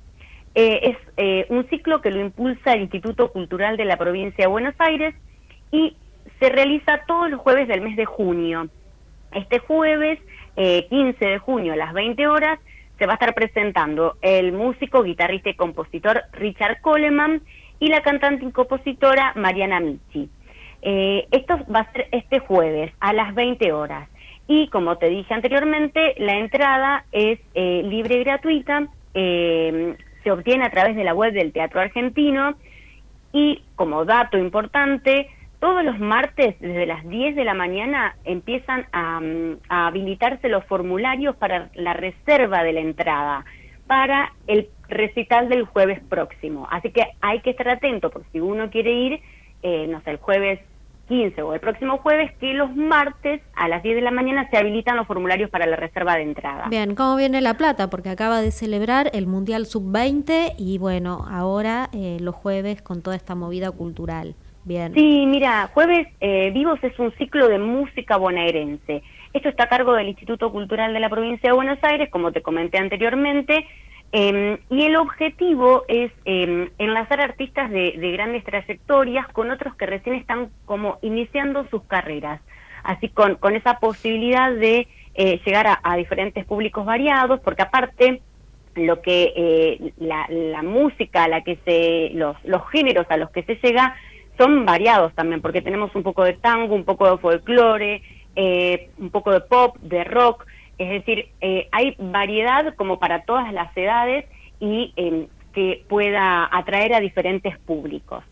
eh, es eh, un ciclo que lo impulsa el Instituto Cultural de la Provincia de Buenos Aires y se realiza todos los jueves del mes de junio. Este jueves, eh, quince de junio a las veinte horas, se va a estar presentando el músico, guitarrista y compositor Richard Coleman y la cantante y compositora Mariana Michi. Eh, esto va a ser este jueves a las veinte horas. Y como te dije anteriormente, la entrada es eh, libre y gratuita, eh, se obtiene a través de la web del Teatro Argentino y, como dato importante, todos los martes desde las diez de la mañana empiezan a, a habilitarse los formularios para la reserva de la entrada para el recital del jueves próximo. Así que hay que estar atento, porque si uno quiere ir, eh, no sé, el jueves quince o el próximo jueves, que los martes a las diez de la mañana se habilitan los formularios para la reserva de entrada. Bien, ¿cómo viene La Plata? Porque acaba de celebrar el Mundial sub veinte y bueno, ahora eh, los jueves con toda esta movida cultural. Bien. Sí, mira, Jueves eh, Vivos es un ciclo de música bonaerense. Esto está a cargo del Instituto Cultural de la Provincia de Buenos Aires, como te comenté anteriormente, eh, y el objetivo es eh, enlazar artistas de, de grandes trayectorias con otros que recién están como iniciando sus carreras, así con, con esa posibilidad de eh, llegar a, a diferentes públicos variados, porque aparte lo que eh, la, la música a la que se, los, los géneros a los que se llega son variados también, porque tenemos un poco de tango, un poco de folclore, eh, un poco de pop, de rock, es decir, eh, hay variedad como para todas las edades y eh, que pueda atraer a diferentes públicos.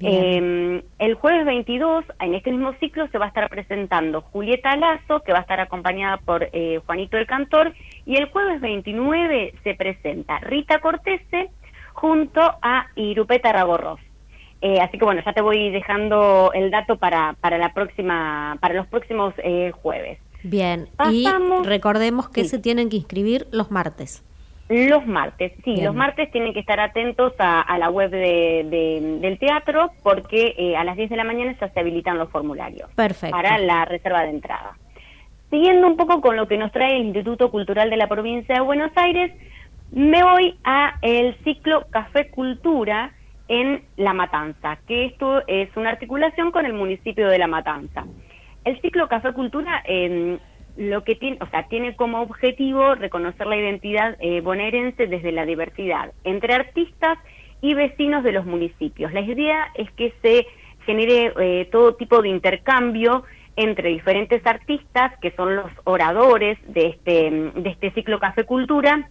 Eh, el jueves veintidós, en este mismo ciclo, se va a estar presentando Julieta Lazo, que va a estar acompañada por eh, Juanito el Cantor, y el jueves veintinueve se presenta Rita Cortese junto a Irupeta Ragorroz. Eh, así que bueno, ya te voy dejando el dato para, para la próxima, para los próximos eh, jueves. Bien, Pasamos, y recordemos que sí. se tienen que inscribir los martes. Los martes, sí, Bien. Los martes tienen que estar atentos a, a la web de, de, del teatro, porque eh, a las diez de la mañana ya se habilitan los formularios. Perfecto. Para la reserva de entrada. Siguiendo un poco con lo que nos trae el Instituto Cultural de la Provincia de Buenos Aires, me voy a el ciclo Café Cultura en La Matanza, que esto es una articulación con el municipio de La Matanza. El ciclo Café Cultura eh, lo que tiene, o sea, tiene como objetivo reconocer la identidad eh, bonaerense desde la diversidad entre artistas y vecinos de los municipios. La idea es que se genere eh, todo tipo de intercambio entre diferentes artistas que son los oradores de este de este ciclo Café Cultura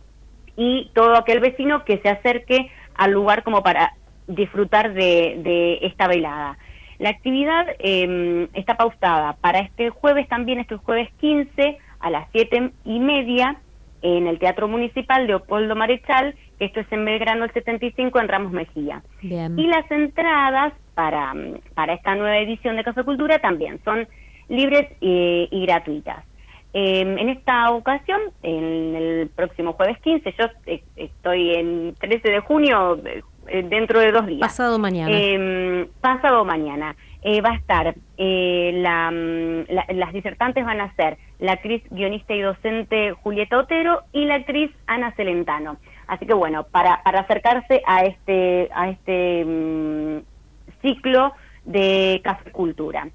y todo aquel vecino que se acerque al lugar como para disfrutar de, de esta velada. La actividad eh, está pautada para este jueves también, este jueves quince a las siete y media en el Teatro Municipal Leopoldo Marechal, que esto es en Belgrano el setenta y cinco en Ramos Mejía. Bien. Y las entradas para, para esta nueva edición de Café Cultura también son libres y, y gratuitas. Eh, en esta ocasión, en el próximo jueves quince, yo eh, estoy en trece de junio, eh, dentro de dos días. Pasado mañana. Eh, pasado mañana. Eh, va a estar, eh, la, la, las disertantes van a ser la actriz, guionista y docente Julieta Otero y la actriz Ana Celentano. Así que bueno, para, para acercarse a este, a este um, ciclo de Café Cultura.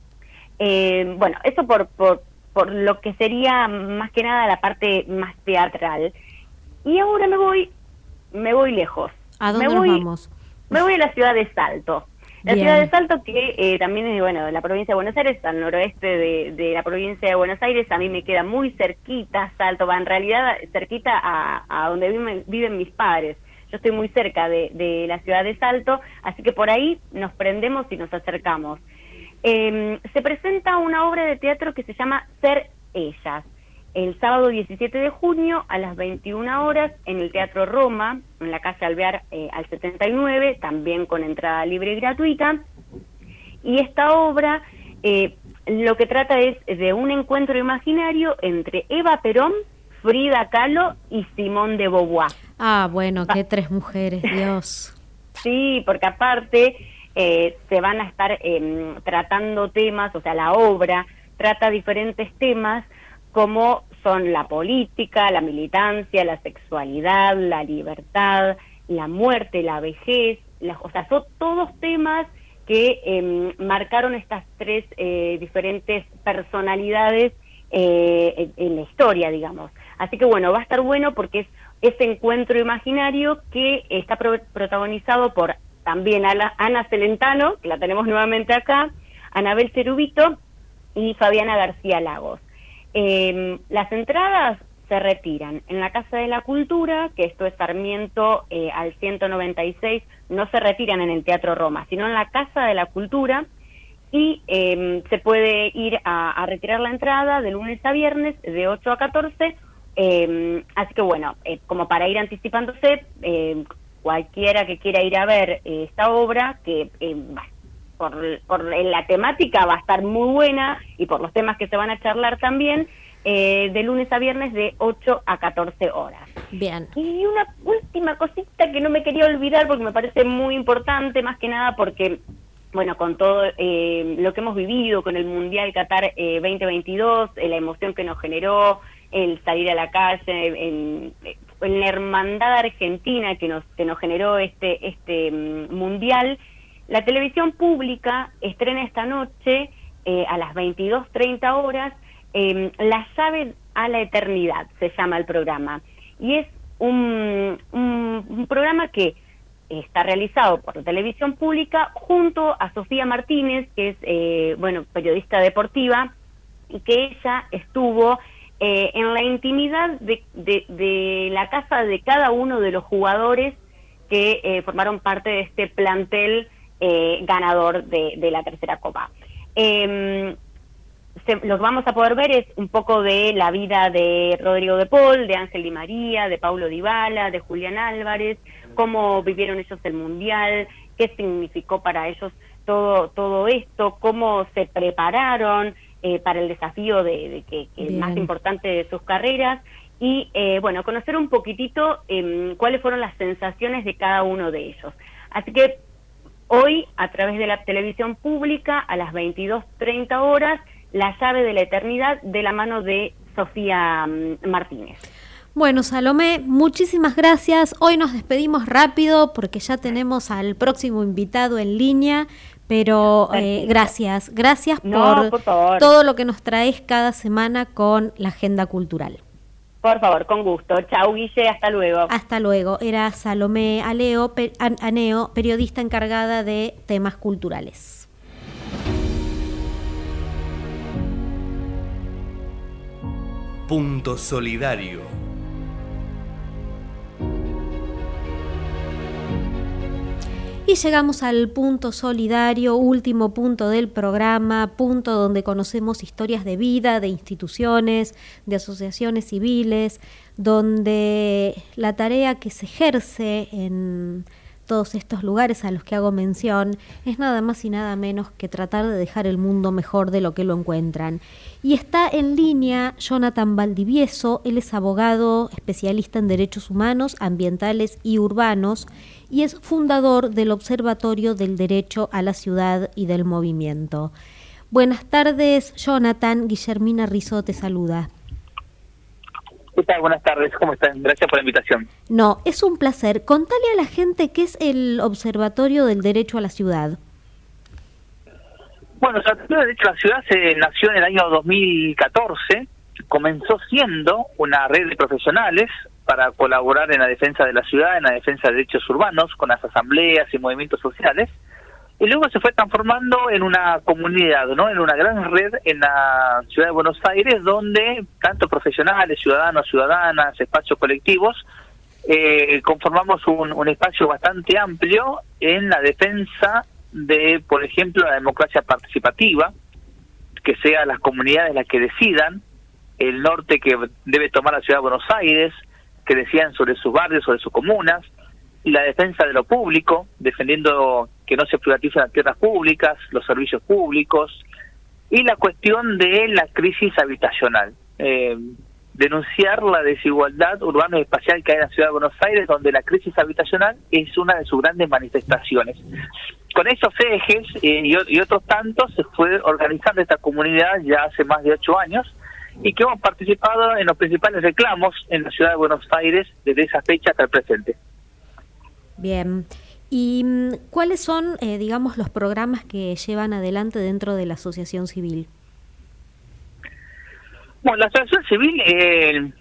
Eh, bueno, eso por, por, por lo que sería más que nada la parte más teatral. Y ahora me voy, me voy lejos. ¿A dónde me voy, nos vamos? Me voy a la ciudad de Salto. La Bien. ciudad de Salto, que eh, también es, bueno, de la provincia de Buenos Aires, al noroeste de, de la provincia de Buenos Aires. A mí me queda muy cerquita Salto, va en realidad cerquita a, a donde viven, viven mis padres. Yo estoy muy cerca de, de la ciudad de Salto, así que por ahí nos prendemos y nos acercamos. Eh, se presenta una obra de teatro que se llama Ser Ellas, el sábado diecisiete de junio a las veintiuna horas en el Teatro Roma, en la calle Alvear eh, al setenta y nueve, también con entrada libre y gratuita. Y esta obra eh, lo que trata es de un encuentro imaginario entre Eva Perón, Frida Kahlo y Simone de Beauvoir. Ah, bueno, qué tres mujeres, Dios. Sí, porque aparte eh, se van a estar eh, tratando temas, o sea, la obra trata diferentes temas como son la política, la militancia, la sexualidad, la libertad, la muerte, la vejez, la, o sea, son todos temas que eh, marcaron estas tres eh, diferentes personalidades eh, en, en la historia, digamos. Así que bueno, va a estar bueno porque es ese encuentro imaginario que está pro protagonizado por también Ana, Ana Celentano, que la tenemos nuevamente acá, Anabel Cerubito y Fabiana García Lagos. Eh, las entradas se retiran en la Casa de la Cultura, que esto es Sarmiento eh, al ciento noventa y seis, no se retiran en el Teatro Roma, sino en la Casa de la Cultura, y eh, se puede ir a, a retirar la entrada de lunes a viernes de ocho a catorce, eh, así que bueno, eh, como para ir anticipándose, eh, cualquiera que quiera ir a ver eh, esta obra, que eh, va, por, por la temática va a estar muy buena, y por los temas que se van a charlar también, Eh, de lunes a viernes de ocho a catorce horas. Bien. Y una última cosita que no me quería olvidar porque me parece muy importante, más que nada porque, bueno, con todo eh, lo que hemos vivido con el Mundial Qatar eh, veinte veintidós, eh, la emoción que nos generó, el salir a la calle, en, en la hermandad argentina que nos, que nos generó este, este um, Mundial, la televisión pública estrena esta noche eh, a las veintidós treinta horas Eh, La llave a la eternidad, se llama el programa, y es un, un, un programa que está realizado por la televisión pública junto a Sofía Martínez, que es eh, bueno, periodista deportiva, y que ella estuvo eh, en la intimidad de, de, de la casa de cada uno de los jugadores que eh, formaron parte de este plantel eh, ganador de, de la tercera copa. Eh, Se, lo que vamos a poder ver es un poco de la vida de Rodrigo de Paul, de Ángel Di María, de Paulo Dybala, de Julián Álvarez, cómo vivieron ellos el Mundial, qué significó para ellos todo todo esto, cómo se prepararon eh, para el desafío de, de que, que el más importante de sus carreras, y eh, bueno, conocer un poquitito eh, cuáles fueron las sensaciones de cada uno de ellos. Así que hoy, a través de la televisión pública, a las veintidós treinta horas, La llave de la eternidad, de la mano de Sofía Martínez. Bueno, Salomé, muchísimas gracias. Hoy nos despedimos rápido porque ya tenemos al próximo invitado en línea, pero eh, gracias, gracias no, por, por favor. todo lo que nos traes cada semana con la agenda cultural. Por favor, con gusto. Chau, Guille, hasta luego. Hasta luego. Era Salomé Aleo, per, Aneo, periodista encargada de temas culturales. Punto Solidario. Y llegamos al punto solidario, último punto del programa, punto donde conocemos historias de vida, de instituciones, de asociaciones civiles, donde la tarea que se ejerce en todos estos lugares a los que hago mención es nada más y nada menos que tratar de dejar el mundo mejor de lo que lo encuentran. Y está en línea Jonathan Valdivieso. Él es abogado especialista en derechos humanos, ambientales y urbanos, y es fundador del Observatorio del Derecho a la Ciudad y del Movimiento. Buenas tardes, Jonathan. Guillermina Rizo te saluda. ¿Qué tal? Buenas tardes, ¿cómo están? Gracias por la invitación. No, es un placer. Contale a la gente qué es el Observatorio del Derecho a la Ciudad. Bueno, el Observatorio del Derecho a la Ciudad se nació en el año dos mil catorce, comenzó siendo una red de profesionales para colaborar en la defensa de la ciudad, en la defensa de derechos urbanos, con las asambleas y movimientos sociales, y luego se fue transformando en una comunidad, ¿no? En una gran red en la ciudad de Buenos Aires, donde tanto profesionales, ciudadanos, ciudadanas, espacios colectivos, eh, conformamos un, un espacio bastante amplio en la defensa de, por ejemplo, la democracia participativa, que sean las comunidades las que decidan el norte que debe tomar la ciudad de Buenos Aires, que decidan sobre sus barrios, sobre sus comunas, y la defensa de lo público, defendiendo que no se privaticen las tierras públicas, los servicios públicos, y la cuestión de la crisis habitacional. Eh, denunciar la desigualdad urbana y espacial que hay en la ciudad de Buenos Aires, donde la crisis habitacional es una de sus grandes manifestaciones. Con esos ejes eh, y, y otros tantos se fue organizando esta comunidad ya hace más de ocho años, y que hemos participado en los principales reclamos en la ciudad de Buenos Aires desde esa fecha hasta el presente. Bien. ¿Y cuáles son, eh, digamos, los programas que llevan adelante dentro de la asociación civil? Bueno, la asociación civil eh,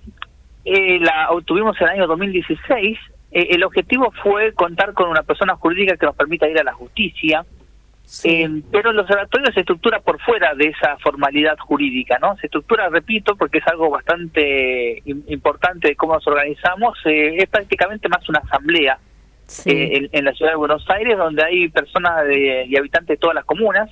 eh, la obtuvimos en el año dos mil dieciséis. Eh, el objetivo fue contar con una persona jurídica que nos permita ir a la justicia, sí. eh, pero el observatorio se estructura por fuera de esa formalidad jurídica, ¿no? Se estructura, repito, porque es algo bastante importante de cómo nos organizamos, eh, es prácticamente más una asamblea. Sí. Eh, en, en la ciudad de Buenos Aires, donde hay personas de, y habitantes de todas las comunas,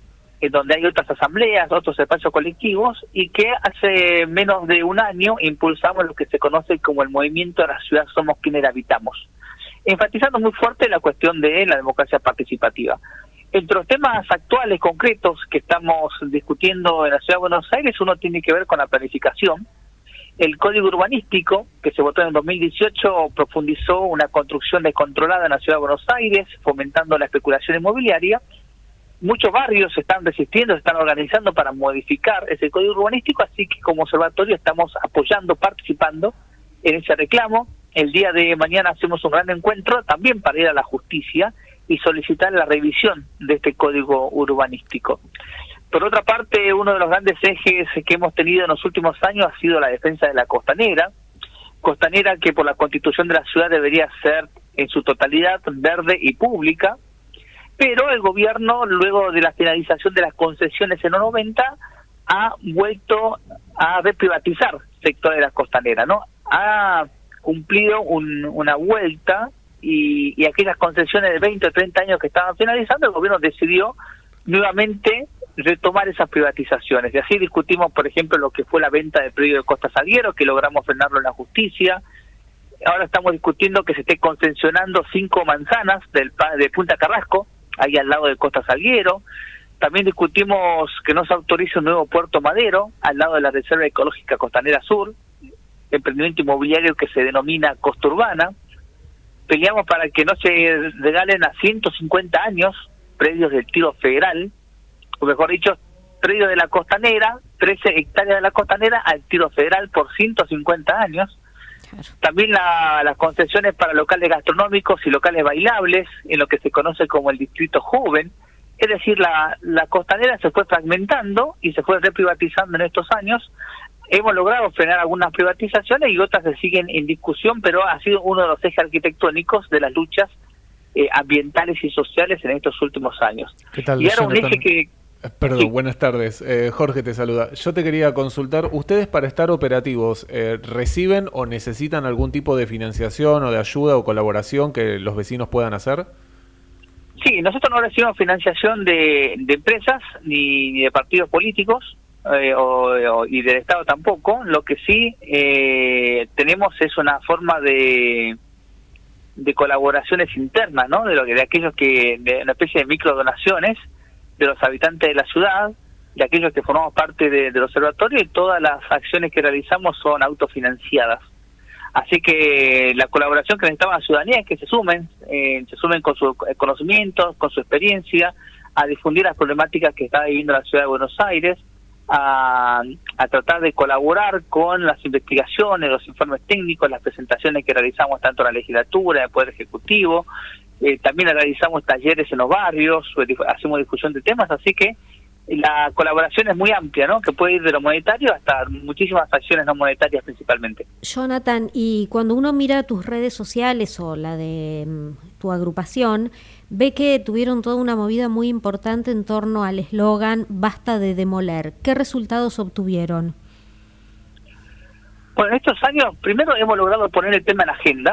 en donde hay otras asambleas, otros espacios colectivos, y que hace menos de un año impulsamos lo que se conoce como el movimiento de la ciudad Somos Quienes la Habitamos, enfatizando muy fuerte la cuestión de la democracia participativa. Entre los temas actuales, concretos, que estamos discutiendo en la ciudad de Buenos Aires, uno tiene que ver con la planificación. El Código Urbanístico, que se votó en dos mil dieciocho, profundizó una construcción descontrolada en la ciudad de Buenos Aires, fomentando la especulación inmobiliaria. Muchos barrios se están resistiendo, se están organizando para modificar ese Código Urbanístico, así que como observatorio estamos apoyando, participando en ese reclamo. El día de mañana hacemos un gran encuentro también para ir a la justicia y solicitar la revisión de este Código Urbanístico. Por otra parte, uno de los grandes ejes que hemos tenido en los últimos años ha sido la defensa de la costanera, costanera que por la constitución de la ciudad debería ser en su totalidad verde y pública, pero el gobierno, luego de la finalización de las concesiones en los noventa, ha vuelto a reprivatizar el sector de la costanera, ¿no? Ha cumplido un, una vuelta y, y aquellas concesiones de veinte o treinta años que estaban finalizando, el gobierno decidió nuevamente retomar esas privatizaciones. Y así discutimos, por ejemplo, lo que fue la venta del predio de Costa Salguero, que logramos frenarlo en la justicia. Ahora estamos discutiendo que se esté concesionando cinco manzanas del de Punta Carrasco, ahí al lado de Costa Salguero. También discutimos que no se autorice un nuevo puerto madero, al lado de la Reserva Ecológica Costanera Sur, emprendimiento inmobiliario que se denomina Costa Urbana. Peleamos para que no se regalen a ciento cincuenta años predios del Tiro Federal, o mejor dicho, predio de la Costanera, trece hectáreas de la Costanera al Tiro Federal por ciento cincuenta años. Claro. También la, las concesiones para locales gastronómicos y locales bailables, en lo que se conoce como el Distrito Joven. Es decir, la, la Costanera se fue fragmentando y se fue reprivatizando en estos años. Hemos logrado frenar algunas privatizaciones y otras se siguen en discusión, pero ha sido uno de los ejes arquitectónicos de las luchas eh, ambientales y sociales en estos últimos años. ¿Qué tal, y ahora Jonathan? Un eje que Perdón, sí. Buenas tardes. Eh, Jorge te saluda. Yo te quería consultar, ¿ustedes para estar operativos eh, reciben o necesitan algún tipo de financiación o de ayuda o colaboración que los vecinos puedan hacer? Sí, nosotros no recibimos financiación de, de empresas ni, ni de partidos políticos eh, o, o, y del Estado tampoco. Lo que sí eh, tenemos es una forma de de colaboraciones internas, ¿no? De lo que de aquellos que de una especie de microdonaciones de los habitantes de la ciudad, de aquellos que formamos parte de, del observatorio, y todas las acciones que realizamos son autofinanciadas. Así que la colaboración que necesitamos la ciudadanía es que se sumen, eh, se sumen con sus conocimientos, con su experiencia, a difundir las problemáticas que está viviendo la ciudad de Buenos Aires, a, a tratar de colaborar con las investigaciones, los informes técnicos, las presentaciones que realizamos tanto en la legislatura, en el Poder Ejecutivo. Eh, también realizamos talleres en los barrios, hacemos difusión de temas, así que la colaboración es muy amplia, ¿no? Que puede ir de lo monetario hasta muchísimas acciones no monetarias principalmente. Jonathan, y cuando uno mira tus redes sociales o la de um, tu agrupación, ve que tuvieron toda una movida muy importante en torno al eslogan "Basta de demoler". ¿Qué resultados obtuvieron? Bueno, en estos años, primero hemos logrado poner el tema en la agenda,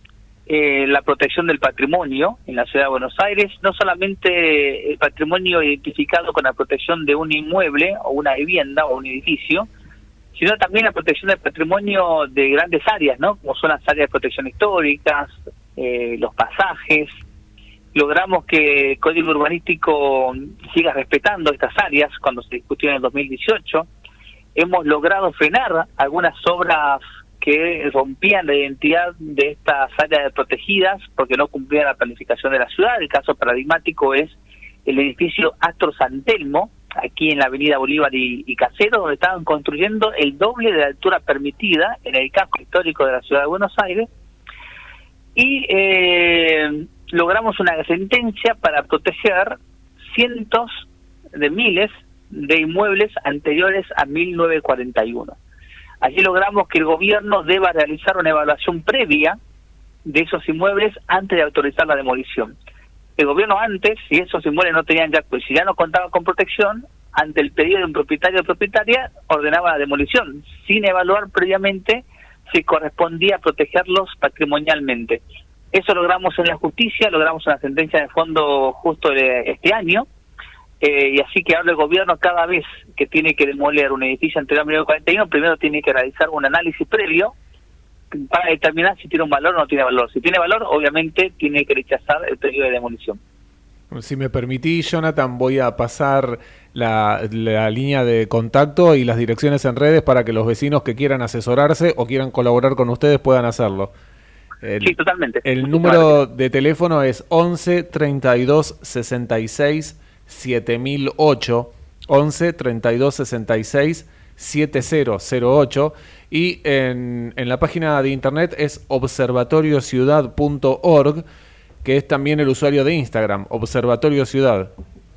eh, la protección del patrimonio en la ciudad de Buenos Aires, no solamente el patrimonio identificado con la protección de un inmueble o una vivienda o un edificio, sino también la protección del patrimonio de grandes áreas, ¿no? Como son las áreas de protección históricas, eh, los pasajes. Logramos que el Código Urbanístico siga respetando estas áreas cuando se discutió en el dos mil dieciocho. Hemos logrado frenar algunas obras que rompían la identidad de estas áreas protegidas porque no cumplían la planificación de la ciudad. El caso paradigmático es el edificio Astro San Telmo, aquí en la avenida Bolívar y, y Caseros, donde estaban construyendo el doble de la altura permitida en el casco histórico de la ciudad de Buenos Aires. y eh, logramos una sentencia para proteger cientos de miles de inmuebles anteriores a mil novecientos cuarenta y uno. Allí logramos que el gobierno deba realizar una evaluación previa de esos inmuebles antes de autorizar la demolición. El gobierno antes, si esos inmuebles no tenían ya, pues si ya no contaban con protección, ante el pedido de un propietario o propietaria, ordenaba la demolición, sin evaluar previamente si correspondía protegerlos patrimonialmente. Eso logramos en la justicia, logramos una sentencia de fondo justo de este año, eh, y así que ahora el gobierno cada vez que tiene que demoler un edificio anterior a mil novecientos cuarenta y uno, primero tiene que realizar un análisis previo para determinar si tiene un valor o no tiene valor. Si tiene valor, obviamente tiene que rechazar el pedido de demolición. Si me permitís, Jonathan, voy a pasar la, la línea de contacto y las direcciones en redes para que los vecinos que quieran asesorarse o quieran colaborar con ustedes puedan hacerlo. El, sí, totalmente. El número de teléfono es once, treinta y dos, sesenta y seis, siete mil ocho, once, treinta y dos, sesenta y seis, siete cero cero ocho, y en, en la página de internet es observatorio ciudad punto org, que es también el usuario de Instagram, Observatorio Ciudad.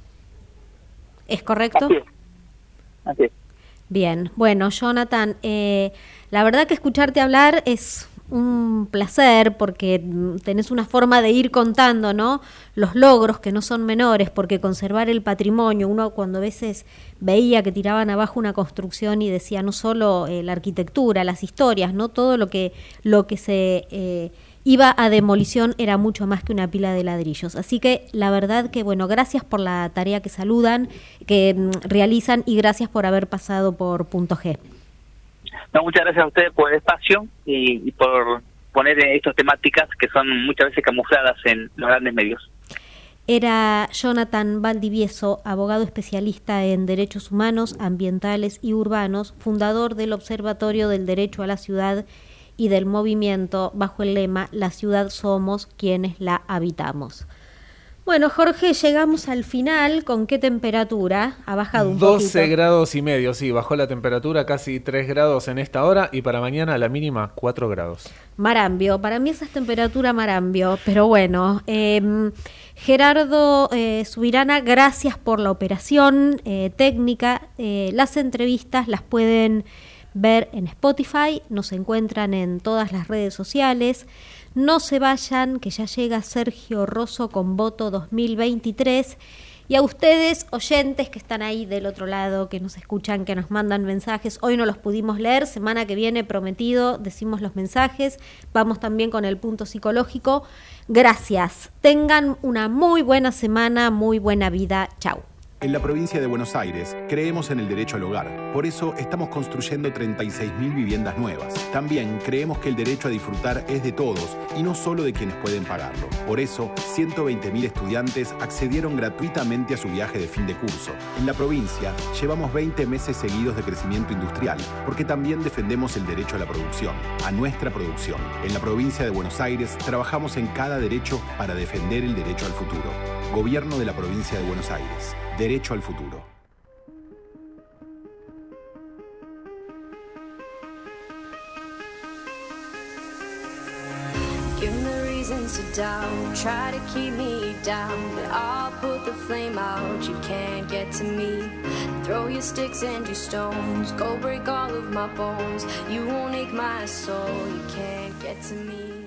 ¿Es correcto? Así es. Así es. Bien, bueno, Jonathan, eh, la verdad que escucharte hablar es un placer porque tenés una forma de ir contando, ¿no?, los logros que no son menores, porque conservar el patrimonio, uno cuando a veces veía que tiraban abajo una construcción y decía no solo eh, la arquitectura, las historias, no todo lo que, lo que se... Eh, iba a demolición era mucho más que una pila de ladrillos. Así que la verdad que, bueno, gracias por la tarea que saludan, que mm, realizan, y gracias por haber pasado por Punto G. No, muchas gracias a ustedes por el espacio y, y por poner estas temáticas que son muchas veces camufladas en los grandes medios. Era Jonathan Valdivieso, abogado especialista en derechos humanos, ambientales y urbanos, fundador del Observatorio del Derecho a la Ciudad y del movimiento bajo el lema La ciudad somos quienes la habitamos. Bueno, Jorge, llegamos al final. ¿Con qué temperatura? Ha bajado un poquito. doce grados y medio, sí, bajó la temperatura casi tres grados en esta hora, y para mañana la mínima cuatro grados. Marambio, para mí esa es temperatura Marambio, pero bueno. Eh, Gerardo eh, Subirana, gracias por la operación eh, técnica. Eh, las entrevistas las pueden ver en Spotify, nos encuentran en todas las redes sociales. No se vayan, que ya llega Sergio Rosso con Voto dos mil veintitrés. Y a ustedes, oyentes que están ahí del otro lado, que nos escuchan, que nos mandan mensajes, hoy no los pudimos leer, semana que viene prometido decimos los mensajes, vamos también con el punto psicológico. Gracias, tengan una muy buena semana, muy buena vida, chau. En la provincia de Buenos Aires creemos en el derecho al hogar. Por eso estamos construyendo treinta y seis mil viviendas nuevas. También creemos que el derecho a disfrutar es de todos y no solo de quienes pueden pagarlo. Por eso, ciento veinte mil estudiantes accedieron gratuitamente a su viaje de fin de curso. En la provincia llevamos veinte meses seguidos de crecimiento industrial, porque también defendemos el derecho a la producción, a nuestra producción. En la provincia de Buenos Aires trabajamos en cada derecho para defender el derecho al futuro. Gobierno de la provincia de Buenos Aires. Derecho al futuro. Give me reasons to doubt, try to keep me down, but I'll put the flame out, you can't get to me. Throw your sticks and your stones, go break all of my bones, you won't ache my soul, you can't get to me.